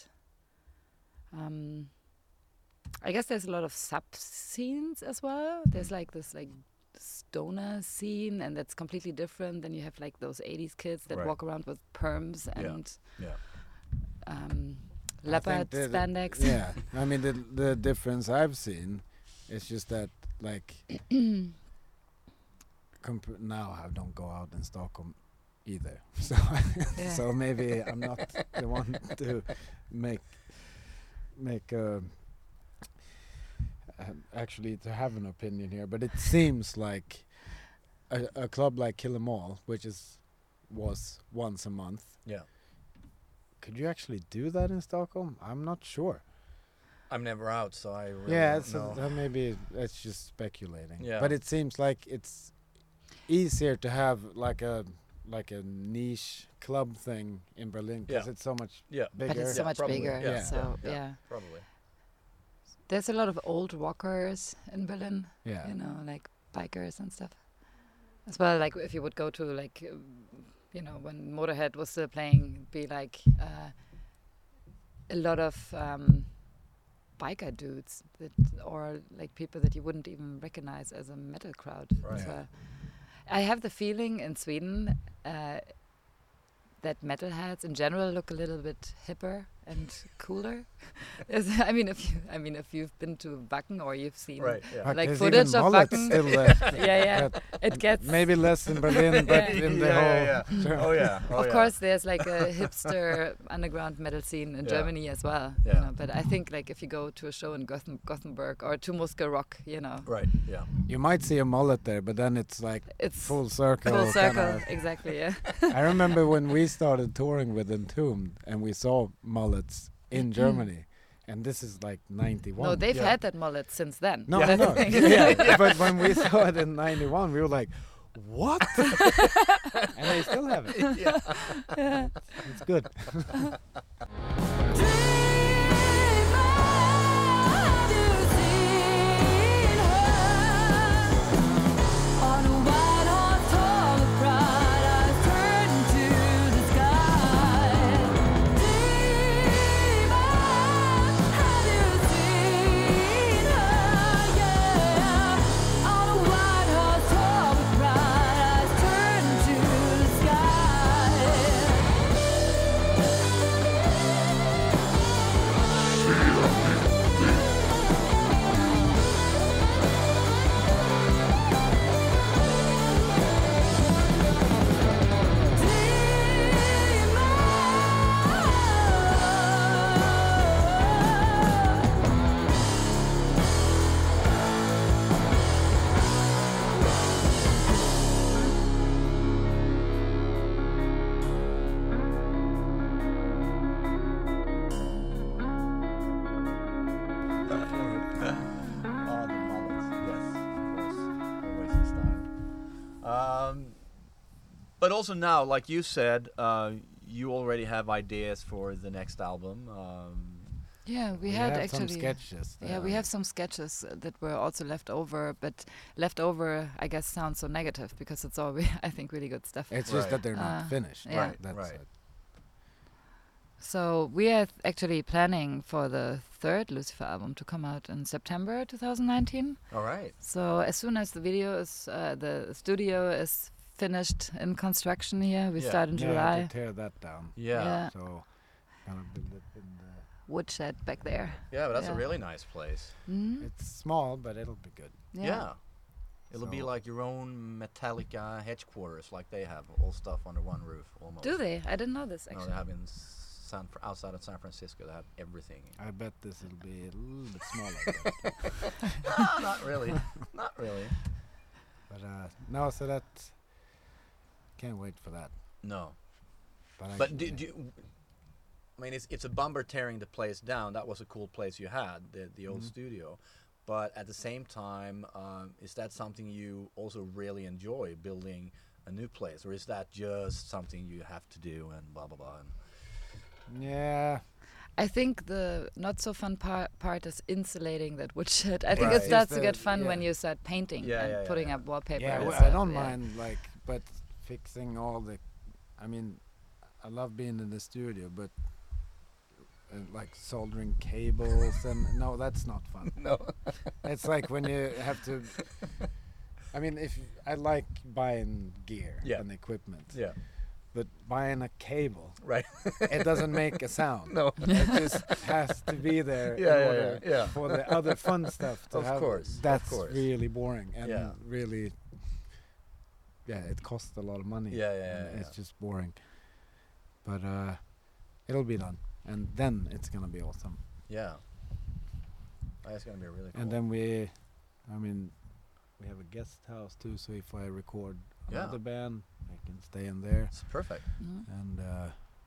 um, I guess there's a lot of sub scenes as well. There's like this like stoner scene, and that's completely different. Then you have like those eighties kids that Right. walk around with perms Yeah. and Yeah. um, I leopard think the- spandex. Yeah, I mean the the difference I've seen is just that like comp- now I don't go out in Stockholm either, so Yeah. so maybe I'm not the one to make make uh, um, actually to have an opinion here, but it seems like a, a club like Kill 'Em All, which is was once a month. Yeah. Could you actually do that in Stockholm? I'm not sure. I'm never out, so I really Yeah, don't so know. that maybe that's just speculating. Yeah. But it seems like it's easier to have like a like a niche club thing in Berlin because Yeah. it's so much Yeah. bigger. But it's so Yeah, much probably. bigger. Yeah. So Yeah. yeah. Yeah. Probably. There's a lot of old rockers in Berlin. yeah. You know, like bikers and stuff. As well, like if you would go to like, um, you know, when Motorhead was still playing, be like uh, a lot of um, biker dudes that, or like people that you wouldn't even recognize as a metal crowd. Right. So Yeah. I have the feeling in Sweden uh, that metalheads in general look a little bit hipper and cooler. Is- I mean, if you, I mean, if you've been to Wacken or you've seen, Right. Yeah. But like there's footage even of mullets Wacken. still left. yeah, yeah, But it gets maybe less in Berlin, but Yeah. in the Yeah, whole. yeah, yeah. Oh yeah. Oh, of yeah. course, there's like a hipster underground metal scene in Yeah. Germany as well. Yeah. You know, but I think like if you go to a show in Gotham, Gothenburg or to Muska Rock, you know, Right. Yeah. You might see a mullet there, but then it's like it's full circle. full circle. kinda. Exactly. Yeah. I remember when we started touring with Entombed and we saw mullets in Germany, and this is like ninety-one. No, they've Yeah. had that mullet since then. No, Yeah. I know. yeah, but when we saw it in ninety-one, we were like, "What?" and they still have it. Yeah. It's good. Sky. Um, but also now, like you said, uh, you already have ideas for the next album. Um, Yeah, we, We had have actually. some sketches. Yeah, we there. have some sketches uh, that were also left over, but left over, I guess, sounds so negative because it's all, re- I think, really good stuff. It's Right. just that they're not Uh, finished. yeah. Right, That's right. it. So we are th- actually planning for the third Lucifer album to come out in September twenty nineteen. all right. So as soon as the video is, uh, the studio is finished in construction here, we Yeah. start in Yeah, July. to tear that down. Yeah. Yeah. So kind of build it in the. Woodshed back there. Yeah, but that's a Yeah. really nice place. Mm? It's small, but it'll be good. Yeah. It'll be So- like your own Metallica headquarters, like they have all stuff under one roof almost. Do they? I didn't know this No, actually. they have in San Fr- outside of San Francisco. They have everything. I bet this will be a little bit smaller. but, Ah, not really. Not really. but uh, no, so that can't wait for that. No. But, But do, actually- do you, I mean, it's it's a bummer tearing the place down. That was a cool place you had, the the old Mhm. studio. But at the same time, um, is that something you also really enjoy, building a new place, or is that just something you have to do and blah blah blah? And yeah, I think the not so fun par- part is insulating that woodshed. I think Right. it starts Is to the- get fun when yeah. you start painting Yeah, and yeah, yeah, putting yeah. up wallpaper. yeah, and well, I stuff, don't yeah. mind like, but fixing all the. I mean, I love being in the studio, but uh, like soldering cables and no, that's not fun. no. It's like when you have to. I mean, if I like buying gear Yeah. and equipment, Yeah. but buying a cable, Right. it doesn't make a sound. No. It just has to be there Yeah, in yeah, order yeah, yeah. for the other fun stuff to Of have. course, of That's course. really boring and Yeah. really. Yeah, it costs a lot of money. Yeah, yeah, and yeah, It's yeah. just boring. But uh, it'll be done, and then it's gonna be awesome. Yeah. That's gonna be really cool. And then we, I mean, we have a guest house too. So if I record Yeah. another band, I can stay in there, it's perfect. Mhm. and uh,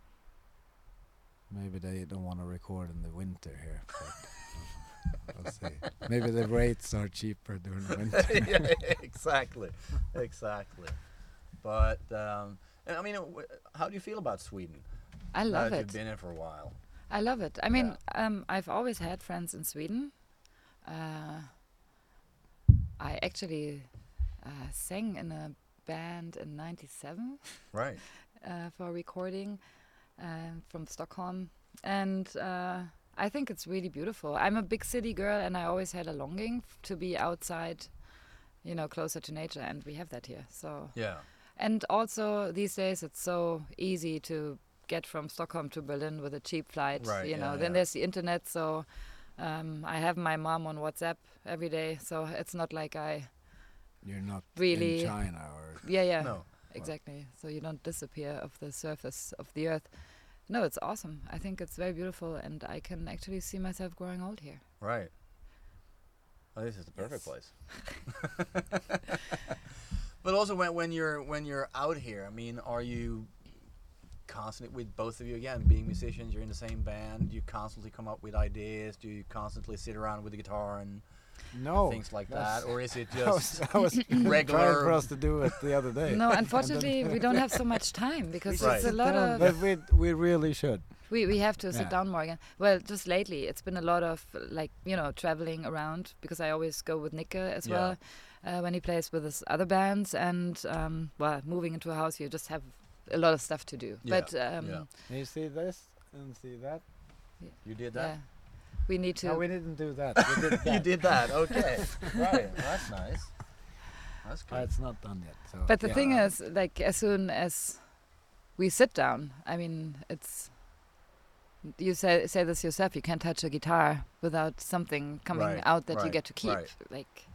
maybe they don't want to record in the winter here. But we'll see. Maybe the rates are cheaper during the winter. yeah, exactly, exactly. But um, and I mean, uh, w- how do you feel about Sweden? I now love that it. You've been here for a while. I love it. I mean, um, I've always had friends in Sweden. Uh, I actually uh, sang in a band in ninety-seven Right. uh, for recording uh, from Stockholm. And uh, I think it's really beautiful. I'm a big city girl, and I always had a longing f- to be outside, you know, closer to nature, and we have that here. So, Yeah. and also these days it's so easy to get from Stockholm to Berlin with a cheap flight. Right, you know, yeah, then yeah. there's the internet, so um, I have my mom on WhatsApp every day, so it's not like I, You're not Really- in China or. yeah, yeah, No. exactly. So you don't disappear off the surface of the earth. No, it's awesome. I think it's very beautiful, and I can actually see myself growing old here. Right. Oh, this is the perfect Yes. place. But also, when when you're when you're out here, I mean, are you constantly with both of you again being musicians? You're in the same band. You constantly come up with ideas. Do you constantly sit around with the guitar and No. things like that's- that, or is it I was, just I was trying regular- for us to do it the other day. No, unfortunately, we don't have so much time because Right. it's a Sit lot down, of. But we we really should. We we have to sit Yeah. down more again. Well, just lately, it's been a lot of like you know traveling around because I always go with Nika as Yeah. well uh, when he plays with his other bands, and um, well, moving into a house, you just have a lot of stuff to do. Yeah, But um, yeah. And you see this and see that. you did that? yeah, we need to. No, we didn't do that. We did that. You did that. Okay. Right. Well, that's nice. That's Uh, good. it's not done yet. So. But the yeah. thing is, like, as soon as we sit down, I mean, it's. You say say this yourself. You can't touch a guitar without something coming Right, out that you right, get to keep. right. Like.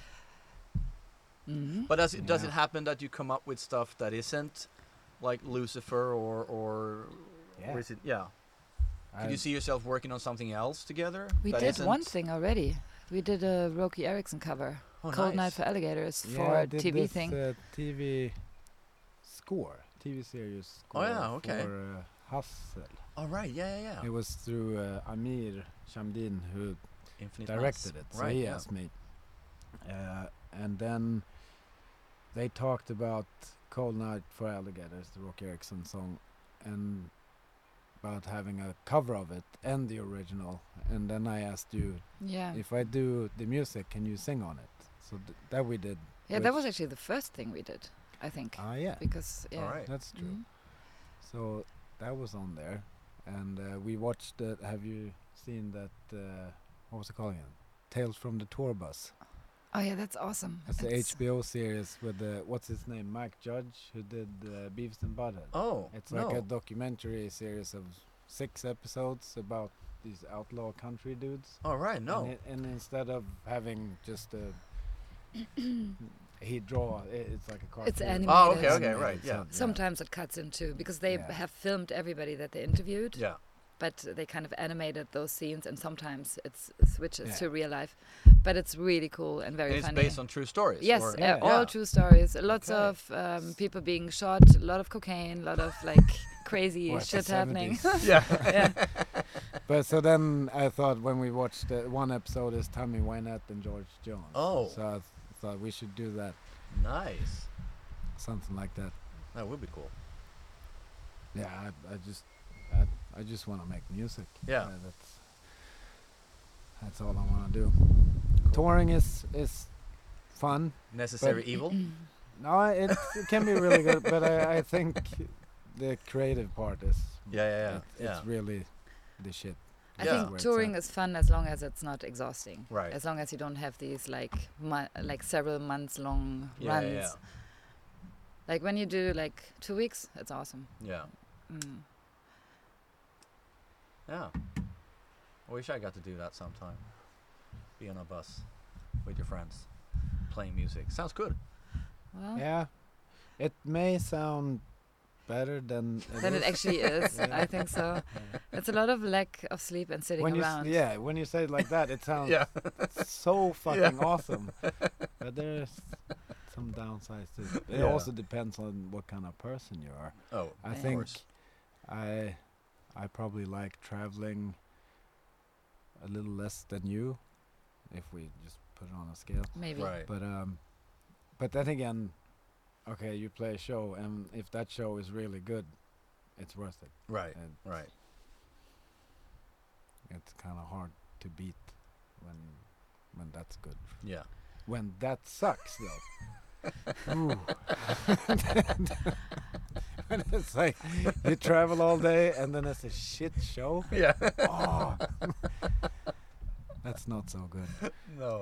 Mhm. But does it does it Yeah. happen that you come up with stuff that isn't like Lucifer or or Yeah. or is it yeah? Could I- you see yourself working on something else together? We that did one isn't- thing already. We did a Roky Erickson cover, Oh, "Cold nice. Night for Alligators" yeah, for I a did T V this, thing. Uh, T V score, T V series score. Oh, yeah, okay. For uh, Hustle. Oh right, yeah, yeah, yeah. It was through uh, Amir Shamdin who Infinite directed Mass. it. So Right, he yeah. asked me, uh, and then they talked about Cold Night for Alligators, the Rock Erickson song, and about having a cover of it and the original. And then I asked you, Yeah. if I do the music, can you sing on it? So th- that we did. Yeah, that which- was actually the first thing we did, I think. Ah, yeah, Because, yeah. All right. that's true. Mhm. So that was on there, and uh, we watched it. Have you seen that? Uh, what was it called again? Tales from the Tour Bus. Oh, yeah, that's awesome. That's the It's- H B O series with the what's his name, Mike Judge, who did uh, Beavis and Butthead. Oh, It's no. like a documentary series of six episodes about these outlaw country dudes. All right, no. And, i- and instead of having just a he draw, i it's like a cartoon. It's animated. Oh, okay, okay, Animated, right, yeah. so, Sometimes it cuts into, because they Yeah. have filmed everybody that they interviewed, Yeah. but they kind of animated those scenes, and sometimes it's switches Yeah. to real life. But it's really cool and very And it's funny. based on true stories. Yes, or- uh, Yeah. all Yeah. true stories. Lots Okay. of um, people being shot, a lot of cocaine, a lot of like crazy Well, it's shit the happening. seventies. Yeah. yeah. But so then I thought when we watched uh, one episode is Tammy Wynette and George Jones. Oh. So I th- thought we should do that, Nice. something like that. That would be cool. Yeah, I, I just, I, I just want to make music. Yeah. Uh, that's, that's all I want to do. Touring is is fun. Necessary But- evil. No, it, it can be really good, but I, I think the creative part is. Yeah, yeah, yeah, it- yeah. It's really the shit. I Yeah. think Where it's touring at. is fun as long as it's not exhausting. Right. As long as you don't have these like mo- like several months long Yeah, runs. yeah, yeah. Like when you do like two weeks, it's awesome. Yeah. Mm. Yeah. I wish I got to do that sometime. Be on a bus with your friends, playing music. Sounds good. Well, Yeah, it may sound better than it then is. it actually is. Yeah. I think so. It's a lot of lack of sleep and sitting when you s- around. yeah, when you say it like that, it sounds Yeah. so fucking awesome. But there's some downsides to it. It Yeah. also depends on what kind of person you are. Oh, I of think course. I I probably like traveling a little less than you, if we just put it on a scale. Maybe. Right. But um, but then again, okay, you play a show, and if that show is really good, it's worth it. Right. And Right. it's kind of hard to beat when when that's good. Yeah. When that sucks, though. Ooh. When it's like you travel all day and then it's a shit show. Yeah. Oh, that's not so good. No.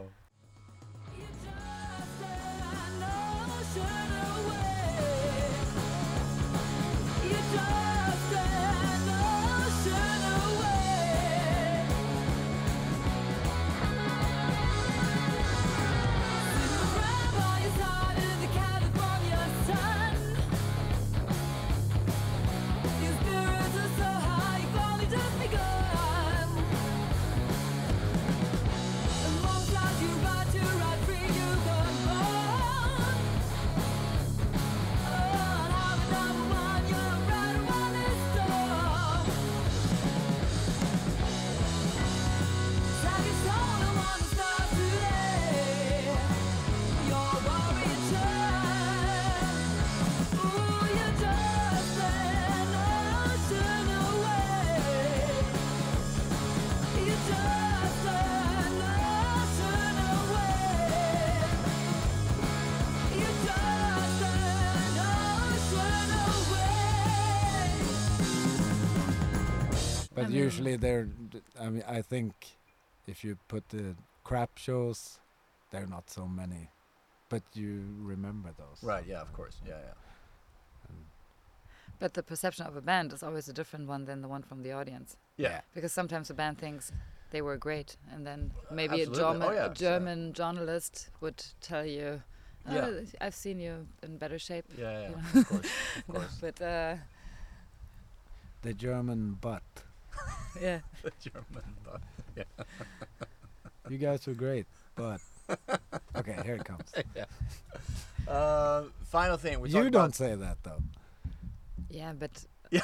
But I mean- usually they're, d- I mean, I think if you put the crap shows, there are not so many. But you remember those. Right. Yeah. Of course. Yeah. Yeah. And But the perception of a band is always a different one than the one from the audience. Yeah. Because sometimes the band thinks they were great, and then maybe a, Absolutely. German, Oh, yeah, a yeah. German journalist would tell you, oh, Yeah. I've seen you in better shape. Yeah. Yeah. You yeah. know? Of course. Of course. But uh, the German butt. yeah, The German. But You guys were great, but okay, here it comes. yeah. Uh, final thing. We You talked don't about- say that though. yeah, but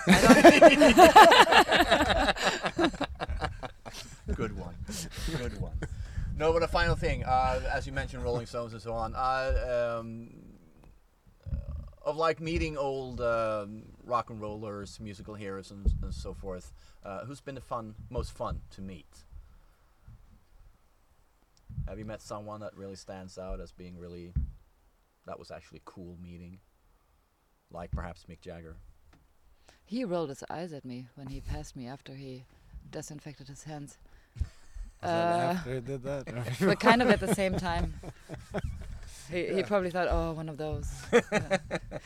Good one. Good one. No, but a final thing. Uh, as you mentioned, Rolling Stones and so on. Uh, um, of like meeting old um, rock and rollers, musical heroes, and, and so forth. Uh, who's been the fun, most fun to meet? Have you met someone that really stands out as being really, that was actually cool meeting? Like perhaps Mick Jagger. He rolled his eyes at me when he passed me after he disinfected his hands. Was that Uh, after he did that? or but before? kind of at the same time. He, he Yeah. probably thought, oh, one of those. Yeah.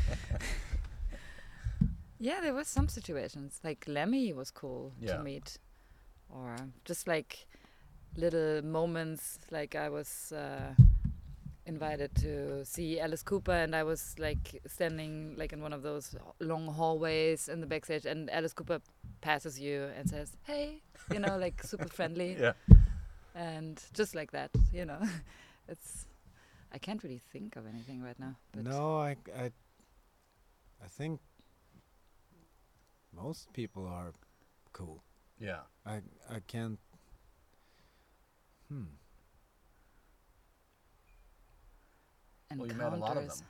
Yeah, there was some situations. Like Lemmy was cool Yeah. to meet. Or just like little moments, like I was uh, invited to see Alice Cooper, and I was like standing like in one of those h- long hallways in the backstage, and Alice Cooper passes you and says, hey, you know, like super friendly. Yeah. And just like that, you know. It's, I can't really think of anything right now. But No, I, I, I think most people are cool. Yeah. I, I can't. Hmm. Well, you met a lot of encounters. them.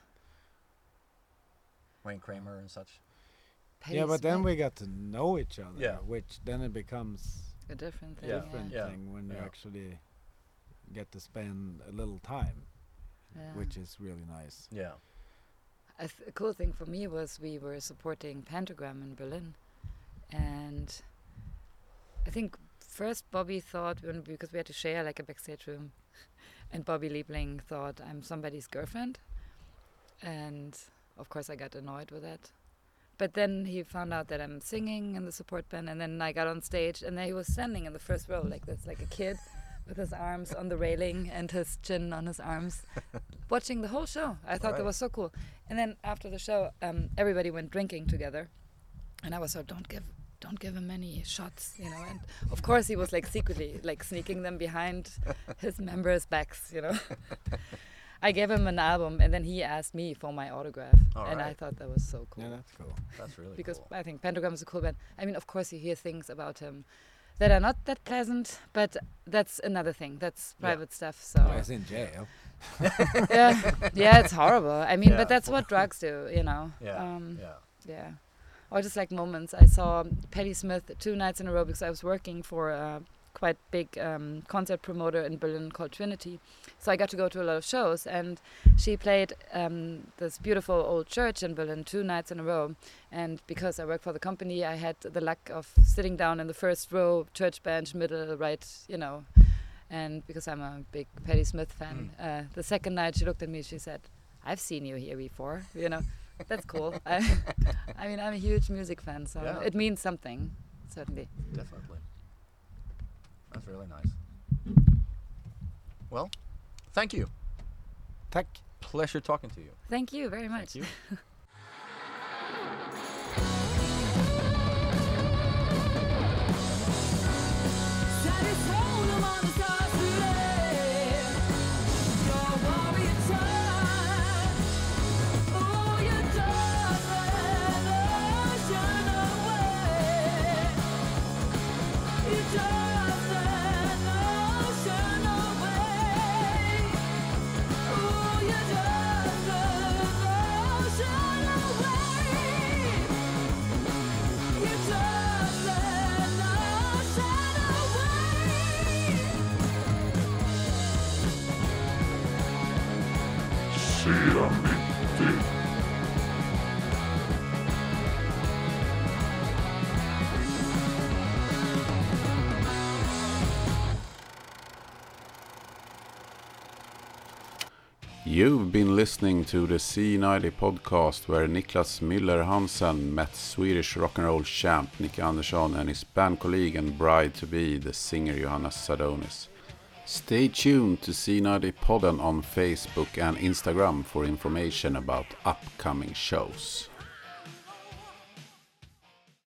Wayne Kramer and such. Yeah, but then Pacemaker, we got to know each other, Yeah. which then it becomes a different thing. Yeah. different Yeah. thing when you Yeah. actually get to spend a little time, Yeah. which is really nice. Yeah. A, th- a cool thing for me was we were supporting Pentagram in Berlin, and I think first Bobby thought, when, because we had to share like a backstage room, and Bobby Liebling thought I'm somebody's girlfriend, and of course I got annoyed with that. But then he found out that I'm singing in the support band, and then I got on stage, and then he was standing in the first row like this, like a kid, with his arms on the railing and his chin on his arms, watching the whole show. I thought that Right. was so cool. And then after the show, um, everybody went drinking together, and I was so, don't give, don't give him any shots, you know. And of course he was like secretly like sneaking them behind his members' backs, you know. I gave him an album, and then he asked me for my autograph, All and I right. thought that was so cool. Yeah, that's cool. That's really Because cool. I think Pentagram is a cool band. I mean, of course, you hear things about him that are not that pleasant, but that's another thing. That's Yeah. private stuff. So I was in jail. yeah, yeah, it's horrible. I mean, Yeah. but that's what drugs do, you know. Yeah. Um, yeah. yeah. Or just like moments. I saw Patti Smith two nights in a row because I was working for a quite big um, concert promoter in Berlin called Trinity. So I got to go to a lot of shows, and she played um, this beautiful old church in Berlin two nights in a row. And because I work for the company, I had the luck of sitting down in the first row, church bench, middle, right, you know. And because I'm a big Patti Smith fan, uh, the second night she looked at me, she said, I've seen you here before, you know. That's cool. I, I mean, I'm a huge music fan, so Yeah. it means something, certainly. Definitely. That's really nice. Well, thank you. Tack. Pleasure talking to you. Thank you very much. Thank you. Set his soul among the stars today. Your warrior child. Oh, you darling ocean away. You darling ocean away. Oh, you darling ocean away. You darling ocean away. You've been listening to the C ninety podcast where Niklas Müller Hansen met Swedish rock and roll champ Nicky Andersson and his band colleague and bride-to-be, the singer Johanna Sadonis. Stay tuned to C ninety podden on Facebook and Instagram for information about upcoming shows.